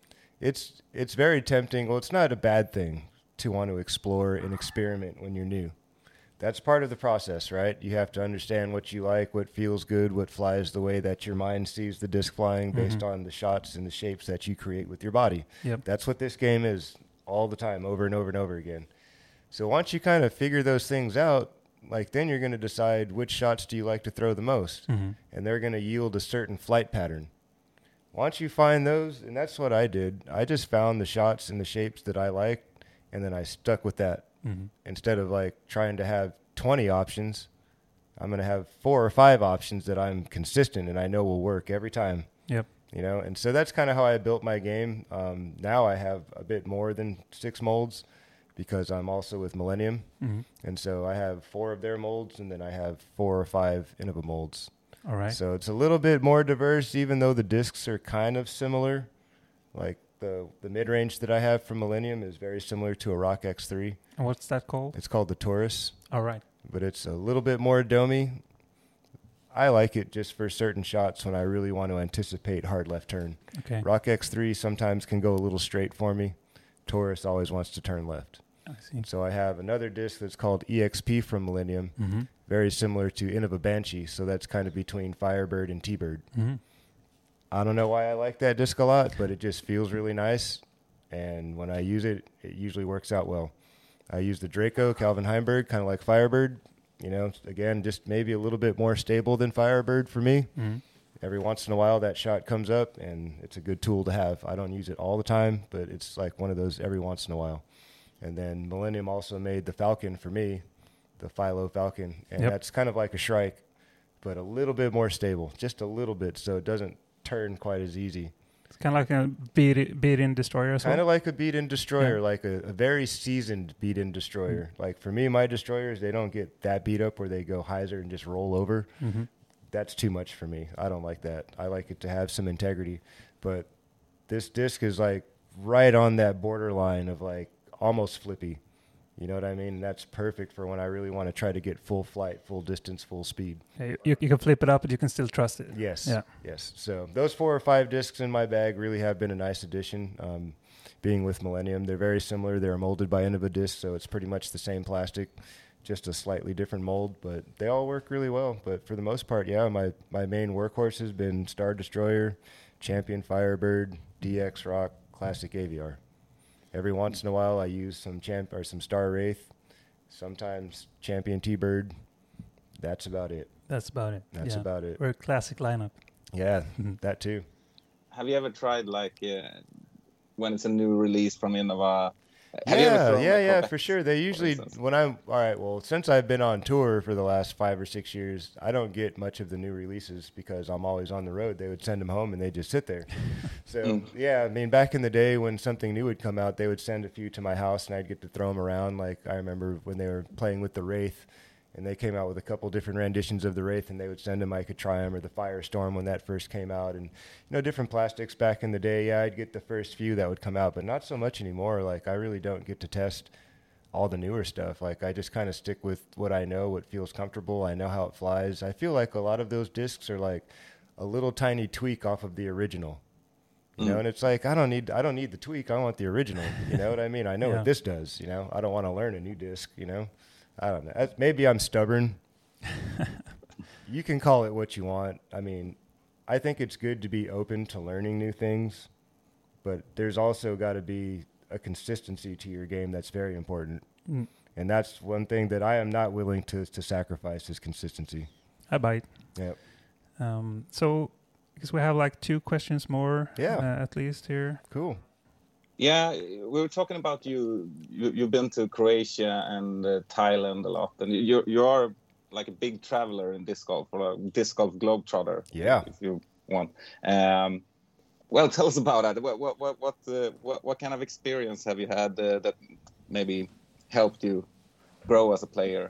it's it's very tempting. Well, it's not a bad thing to want to explore and experiment when you're new. That's part of the process, right? You have to understand what you like, what feels good, what flies the way that your mind sees the disc flying based Mhm. on the shots and the shapes that you create with your body. Yep. That's what this game is all the time, over and over and over again. So once you kind of figure those things out, like then you're going to decide which shots do you like to throw the most, Mm-hmm. and they're going to yield a certain flight pattern. Once you find those, and that's what I did, I just found the shots and the shapes that I liked, and then I stuck with that. Mm-hmm. Instead of like trying to have twenty options, I'm going to have four or five options that I'm consistent and I know will work every time. Yep. You know, and so that's kind of how I built my game. Um, now I have a bit more than six molds because I'm also with Millennium. Mm-hmm. And so I have four of their molds, and then I have four or five Innova molds. All right. So it's a little bit more diverse, even though the discs are kind of similar. Like the, the mid-range that I have from Millennium is very similar to a Rock X three. And what's that called? It's called the Taurus, All right. but it's a little bit more domey. I like it just for certain shots when I really want to anticipate hard left turn. Okay. Rock X three sometimes can go a little straight for me. Taurus always wants to turn left. I see. So I have another disc that's called E X P from Millennium, Mm-hmm. very similar to Innova Banshee, so that's kind of between Firebird and T-Bird. Mm-hmm. I don't know why I like that disc a lot, but it just feels really nice, and when I use it, it usually works out well. I use the Draco Calvin Heimberg, kind of like Firebird. You know, again, just maybe a little bit more stable than Firebird for me. Mm-hmm. Every once in a while, that shot comes up, and it's a good tool to have. I don't use it all the time, but it's like one of those every once in a while. And then Millennium also made the Falcon for me, the Philo Falcon, and Yep. that's kind of like a Shrike, but a little bit more stable, just a little bit, so it doesn't turn quite as easy. It's kind of like a beat, beat-in destroyer as Kind well. of like a beat-in destroyer, Yeah. like a, a very seasoned beat-in destroyer. Mm-hmm. Like for me, my destroyers, they don't get that beat up where they go hyzer and just roll over. Mm-hmm. That's too much for me. I don't like that. I like it to have some integrity. But this disc is like right on that borderline of like almost flippy. You know what I mean? That's perfect for when I really want to try to get full flight, full distance, full speed. Yeah, you, you can flip it up, but you can still trust it. Yes. Yeah. Yes. So those four or five discs in my bag really have been a nice addition. Um, being with Millennium, they're very similar. They're molded by Innova discs, so it's pretty much the same plastic, just a slightly different mold. But they all work really well. But for the most part, yeah, my my main workhorse has been Star Destroyer, Champion Firebird, D X Rock, Classic A V R. Every once in a while, I use some champ or some Star Wraith, sometimes Champion T-Bird, That's about it. That's about it. That's yeah. about it. We're a classic lineup. Yeah, Mhm. that too. Have you ever tried like uh, when it's a new release from Innova? Have you ever Yeah, thrown yeah, a yeah, Corvette, for sure. They usually, instance? when I'm, all right, well, since I've been on tour for the last five or six years, I don't get much of the new releases because I'm always on the road. They would send them home and they just sit there. So, Mm. yeah, I mean, back in the day when something new would come out, they would send a few to my house and I'd get to throw them around. Like, I remember when they were playing with the Wraith and they came out with a couple different renditions of the Wraith and they would send them. I could try them, or the Firestorm when that first came out. And, you know, different plastics back in the day. Yeah, I'd get the first few that would come out, but not so much anymore. Like, I really don't get to test all the newer stuff. Like, I just kind of stick with what I know, what feels comfortable. I know how it flies. I feel like a lot of those discs are like a little tiny tweak off of the original. You Mm. know, and it's like, I don't need, I don't need the tweak. I want the original. You know what I mean? I know Yeah. what this does, you know, I don't want to learn a new disc, you know, I don't know. That's- Maybe I'm stubborn. You can call it what you want. I mean, I think it's good to be open to learning new things, but there's also got to be a consistency to your game that's very important. Mm. And that's one thing that I am not willing to, to sacrifice is consistency. I bite. Yep. Um, so, because we have like two questions more, Yeah. uh, at least here. Cool. Yeah, we were talking about you. you you've been to Croatia and uh, Thailand a lot, and you you are like a big traveler in disc golf, or a disc golf globetrotter. Yeah. if you want. Um, well, tell us about that. What what what what, uh, what, what kind of experience have you had uh, that maybe helped you grow as a player?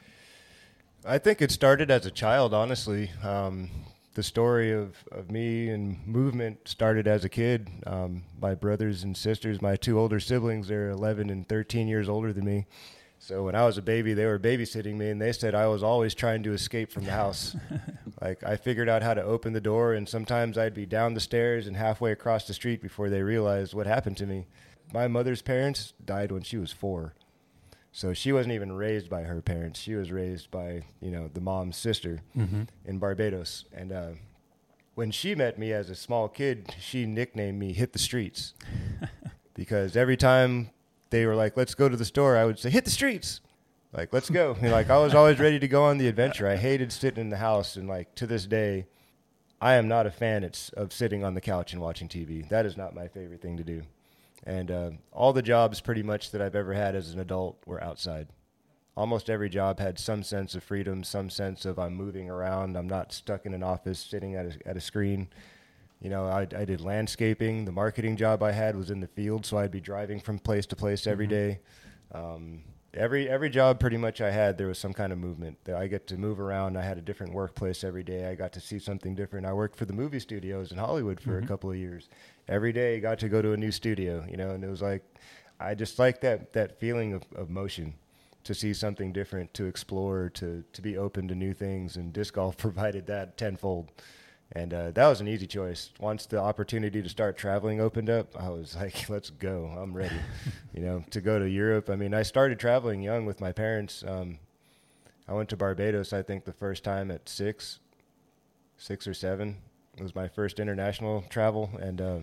I think it started as a child, honestly. Um, the story of, of me and movement started as a kid. Um, my brothers and sisters, my two older siblings, they're eleven and thirteen years older than me. So when I was a baby, they were babysitting me, and they said I was always trying to escape from the house. Like, I figured out how to open the door, and sometimes I'd be down the stairs and halfway across the street before they realized what happened to me. My mother's parents died when she was four. So she wasn't even raised by her parents. She was raised by, you know, the mom's sister Mm-hmm. in Barbados. And uh, when she met me as a small kid, she nicknamed me Hit the Streets. Because every time they were like, let's go to the store, I would say, hit the streets. Like, let's go. And like, I was always ready to go on the adventure. I hated sitting in the house. And like, to this day, I am not a fan it's, of sitting on the couch and watching T V. That is not my favorite thing to do. And uh, all the jobs pretty much that I've ever had as an adult were outside. Almost every job had some sense of freedom, some sense of I'm moving around. I'm not stuck in an office sitting at a, at a screen. You know, I, I did landscaping. The marketing job I had was in the field, so I'd be driving from place to place every day. Um, every every job pretty much I had, there was some kind of movement. I get to move around. I had a different workplace every day. I got to see something different. I worked for the movie studios in Hollywood for Mhm. a couple of years. Every day I got to go to a new studio, you know, and it was like, I just like that, that feeling of, of motion, to see something different, to explore, to, to be open to new things. And disc golf provided that tenfold. And uh, that was an easy choice. Once the opportunity to start traveling opened up, I was like, let's go. I'm ready, you know, to go to Europe. I mean, I started traveling young with my parents. Um, I went to Barbados, I think, the first time at six, six or seven. It was my first international travel. And uh,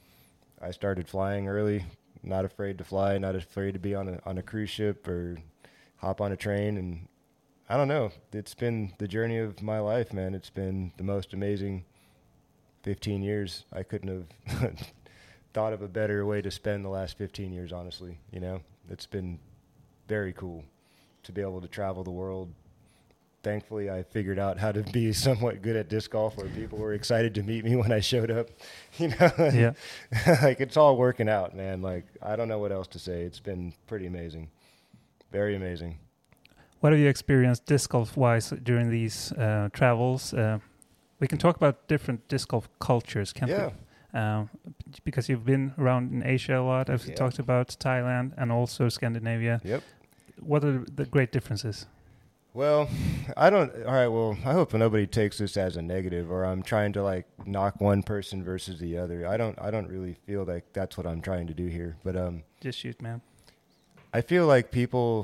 I started flying early, not afraid to fly, not afraid to be on a, on a cruise ship or hop on a train. And I don't know. It's been the journey of my life, man. It's been the most amazing fifteen years. I couldn't have thought of a better way to spend the last fifteen years, honestly. You know, it's been very cool to be able to travel the world. Thankfully, I figured out how to be somewhat good at disc golf, where people were excited to meet me when I showed up. You know, Yeah. like, it's all working out, man. Like, I don't know what else to say. It's been pretty amazing. Very amazing. What have you experienced disc golf wise during these uh, travels? Uh, we can talk about different disc golf cultures, can't Yeah. we? Um, because you've been around in Asia a lot. I've Yeah. talked about Thailand and also Scandinavia. Yep. What are the great differences? Well, I don't. All right. Well, I hope nobody takes this as a negative, or I'm trying to like knock one person versus the other. I don't. I don't really feel like that's what I'm trying to do here. But um, Just shoot, man. I feel like people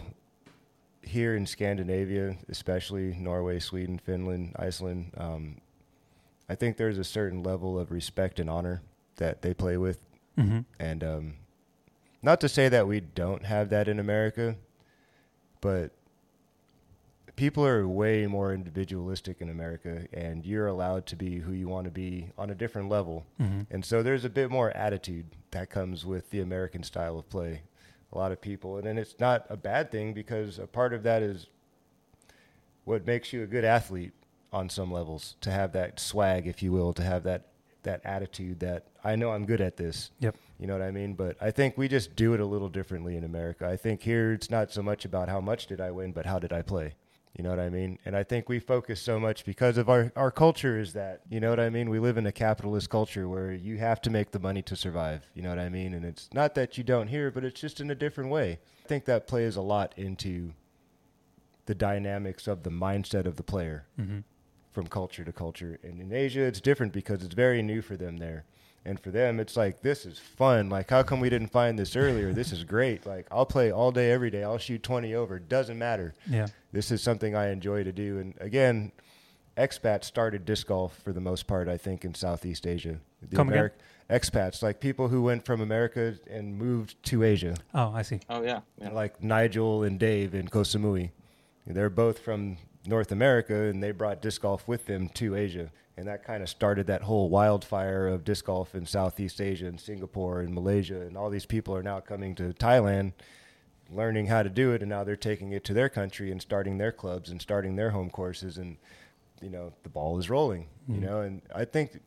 here in Scandinavia, especially Norway, Sweden, Finland, Iceland, um, I think there's a certain level of respect and honor that they play with, Mm-hmm. and um, not to say that we don't have that in America, but people are way more individualistic in America, and you're allowed to be who you want to be on a different level. Mm-hmm. And so there's a bit more attitude that comes with the American style of play. A lot of people, and then it's not a bad thing, because a part of that is what makes you a good athlete on some levels, to have that swag, if you will, to have that that attitude that I know I'm good at this. Yep. You know what I mean? But I think we just do it a little differently in America. I think here it's not so much about how much did I win, but how did I play? You know what I mean? And I think we focus so much because of our, our culture is that, you know what I mean? We live in a capitalist culture where you have to make the money to survive. You know what I mean? And it's not that you don't hear, but it's just in a different way. I think that plays a lot into the dynamics of the mindset of the player. Mm-hmm. From culture to culture. And in Asia, it's different because it's very new for them there. And for them, it's like, this is fun. Like, how come we didn't find this earlier? This is great. Like, I'll play all day, every day. I'll shoot twenty over. Doesn't matter. Yeah. This is something I enjoy to do. And again, expats started disc golf for the most part, I think, in Southeast Asia. The Come again? Expats, like people who went from America and moved to Asia. Oh, I see. Oh yeah, yeah. Like Nigel and Dave in Koh Samui. They're both from North America, and they brought disc golf with them to Asia. And that kind of started that whole wildfire of disc golf in Southeast Asia and Singapore and Malaysia. And all these people are now coming to Thailand, learning how to do it, and now they're taking it to their country and starting their clubs and starting their home courses. And, you know, the ball is rolling, mm-hmm. you know. And I think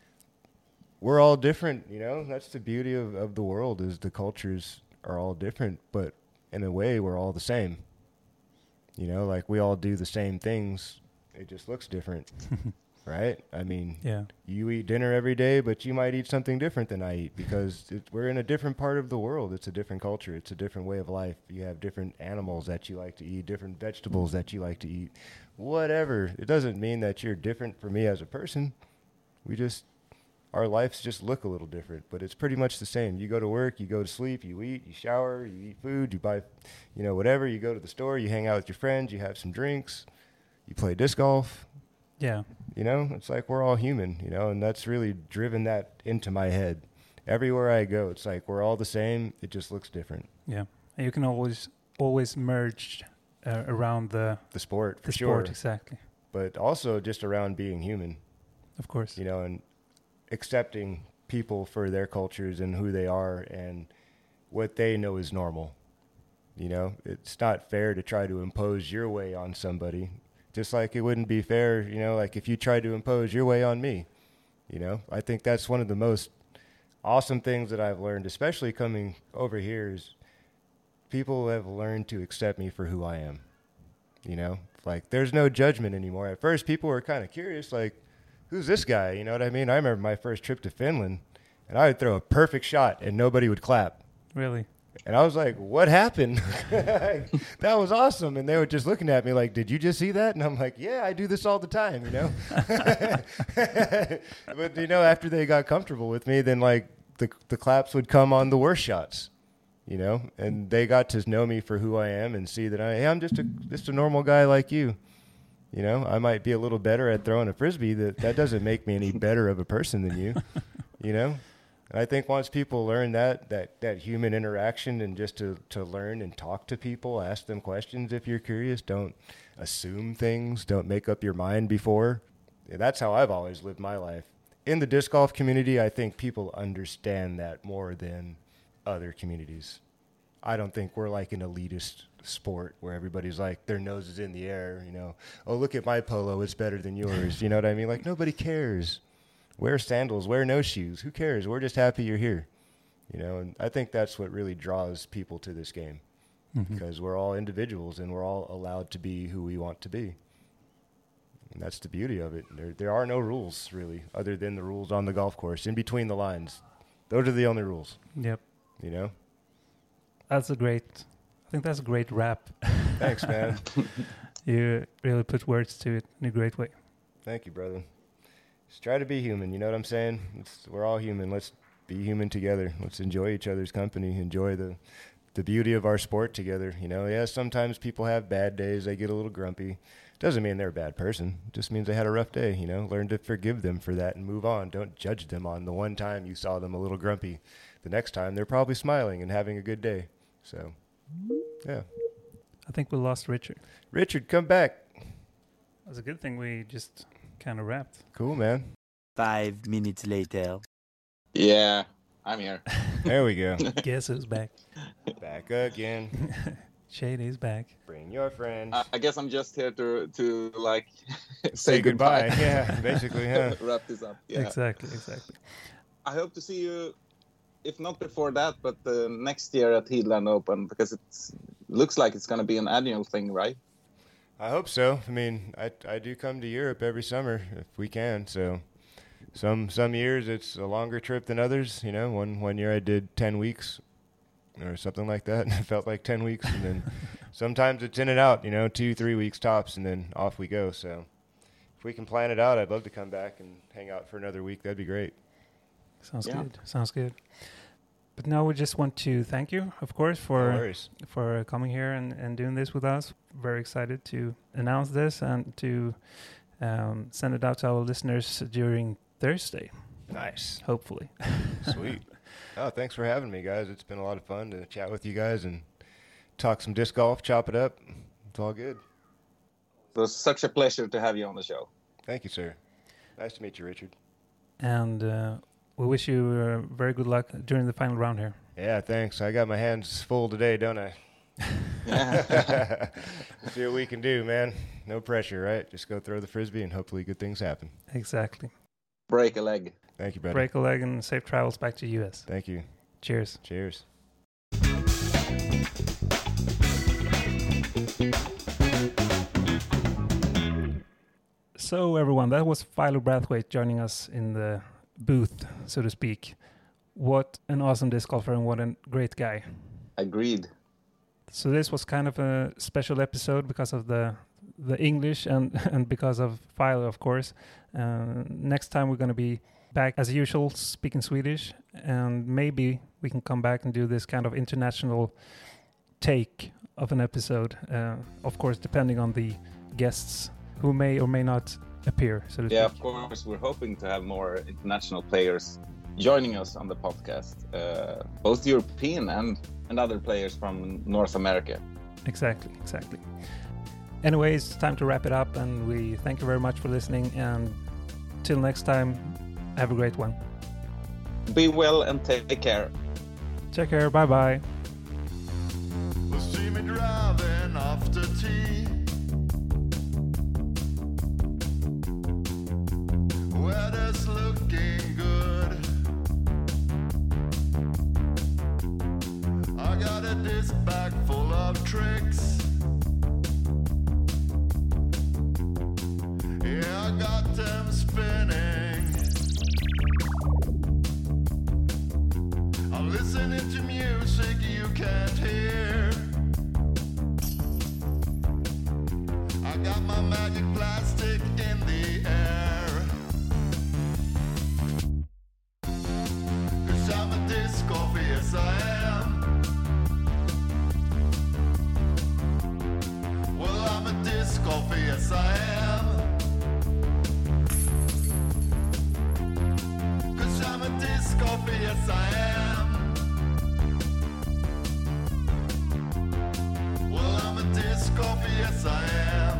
we're all different, you know. That's the beauty of, of the world, is the cultures are all different, but in a way we're all the same. You know, like we all do the same things. It just looks different, right? I mean, yeah. You eat dinner every day, but you might eat something different than I eat, because it, we're in a different part of the world. It's a different culture. It's a different way of life. You have different animals that you like to eat, different vegetables that you like to eat, whatever. It doesn't mean that you're different from me as a person. We just, our lives just look a little different, but it's pretty much the same. You go to work, you go to sleep, you eat, you shower, you eat food, you buy, you know, whatever. You go to the store, you hang out with your friends, you have some drinks, you play disc golf. Yeah. You know, it's like we're all human, you know, and that's really driven that into my head. Everywhere I go, it's like we're all the same. It just looks different. Yeah. And you can always always merge uh, around the the sport, for the sure. sport, exactly. But also just around being human. Of course. You know, and accepting people for their cultures and who they are and what they know is normal. You know, it's not fair to try to impose your way on somebody, just like it wouldn't be fair, you know, like if you tried to impose your way on me. You know, I think that's one of the most awesome things that I've learned, especially coming over here, is people have learned to accept me for who I am. You know, like there's no judgment anymore. At first, people were kind of curious, like, who's this guy? You know what I mean? I remember my first trip to Finland, and I would throw a perfect shot, and nobody would clap. Really? And I was like, what happened? That was awesome. And they were just looking at me like, did you just see that? And I'm like, yeah, I do this all the time, you know? But, you know, after they got comfortable with me, then, like, the the claps would come on the worst shots, you know? And they got to know me for who I am and see that I, hey, I'm just a, just a normal guy like you. You know, I might be a little better at throwing a Frisbee. That that doesn't make me any better of a person than you, you know? And I think once people learn that, that, that human interaction, and just to, to learn and talk to people, ask them questions if you're curious, don't assume things, don't make up your mind before. Yeah, that's how I've always lived my life. In the disc golf community, I think people understand that more than other communities. I don't think we're like an elitist sport where everybody's like, their nose is in the air, you know, oh, look at my polo, it's better than yours. You know what I mean? Like, nobody cares. Wear sandals, wear no shoes. Who cares? We're just happy you're here. You know, and I think that's what really draws people to this game, mm-hmm. because we're all individuals and we're all allowed to be who we want to be. And that's the beauty of it. There, there are no rules, really, other than the rules on the golf course, in between the lines. Those are the only rules. Yep. You know? That's a great, I think that's a great wrap. Thanks, man. You really put words to it in a great way. Thank you, brother. Just try to be human, you know what I'm saying? It's, we're all human. Let's be human together. Let's enjoy each other's company, enjoy the the beauty of our sport together. You know, yeah, sometimes people have bad days. They get a little grumpy. Doesn't mean they're a bad person. It just means they had a rough day, you know. Learn to forgive them for that and move on. Don't judge them on the one time you saw them a little grumpy. The next time, they're probably smiling and having a good day. So, yeah. I think we lost Richard. Richard, come back. That's a good thing we just kind of wrapped. Cool, man. Five minutes later. Yeah, I'm here. There we go. Guess who's back? Back again. Shady's back. Bring your friends. I, I guess I'm just here to to like say, Say goodbye. Yeah, basically, yeah. Wrap this up. Yeah. Exactly, exactly. I hope to see you, if not before that, but uh, next year at Heatland Open, because it looks like it's going to be an annual thing, right? I hope so. I mean, I I do come to Europe every summer if we can. So some some years it's a longer trip than others. You know, one one year I did ten weeks or something like that, and it felt like ten weeks. And then sometimes it's in and out. You know, two three weeks tops, and then off we go. So if we can plan it out, I'd love to come back and hang out for another week. That'd be great. Sounds Yeah. good. Sounds good. But now we just want to thank you, of course, No for worries. for coming here and, and doing this with us. Very excited to announce this and to um, send it out to our listeners during Thursday, Nice. hopefully. Sweet. Oh, thanks for having me, guys. It's been a lot of fun to chat with you guys and talk some disc golf, chop it up. It's all good. It was such a pleasure to have you on the show. Thank you, sir. Nice to meet you, Richard. And uh, we wish you uh, very good luck during the final round here. Yeah, thanks. I got my hands full today, don't I? Yeah. See what we can do, man. No pressure, right? Just go throw the frisbee and hopefully good things happen. Exactly. Break a leg. Thank you, buddy. Break a leg and safe travels back to U S. Thank you. Cheers. Cheers. So everyone, that was Philo Brathwaite joining us in the booth, so to speak. What an awesome disc golfer and what a great guy. Agreed. So this was kind of a special episode because of the the English and, and because of Philo, of course. Uh, next time we're going to be back as usual, speaking Swedish, and maybe we can come back and do this kind of international take of an episode. Uh, of course, depending on the guests who may or may not appear, so to Yeah, speak. of course. We're hoping to have more international players joining us on the podcast, uh, both European and, and other players from North America. Exactly, exactly. Anyways, time to wrap it up, and we thank you very much for listening, and till next time, have a great one. Be well and take care. Take care, bye-bye. Will see me driving after tea. Weather's looking good. I got a disc bag full of tricks. Yeah, I got them spinning. I'm listening to music you can't hear. I got my magic plastic in the air. 'Cause I'm a disc golfer, yes I am. Well, I'm a disc golfer, yes I am. 'Cause I'm a disc golfer, yes I am. Well, I'm a disc golfer, yes I am.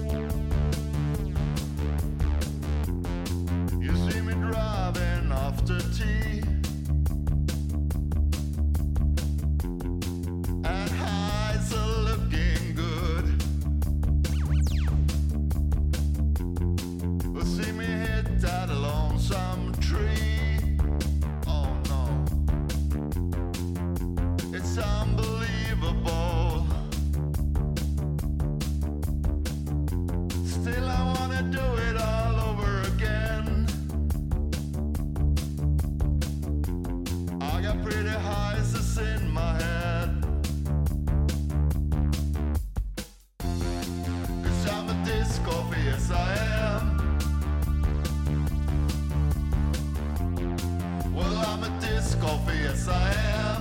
You see me driving after tea. And highs are looking good. We'll see me hit that lonesome tree. Oh no. It's unbelievable. Still I wanna do it all over again. I got pretty highs that's in my head. 'Cause I'm a disc golfer, yes I am. Well, I'm a disc golfer, yes I am.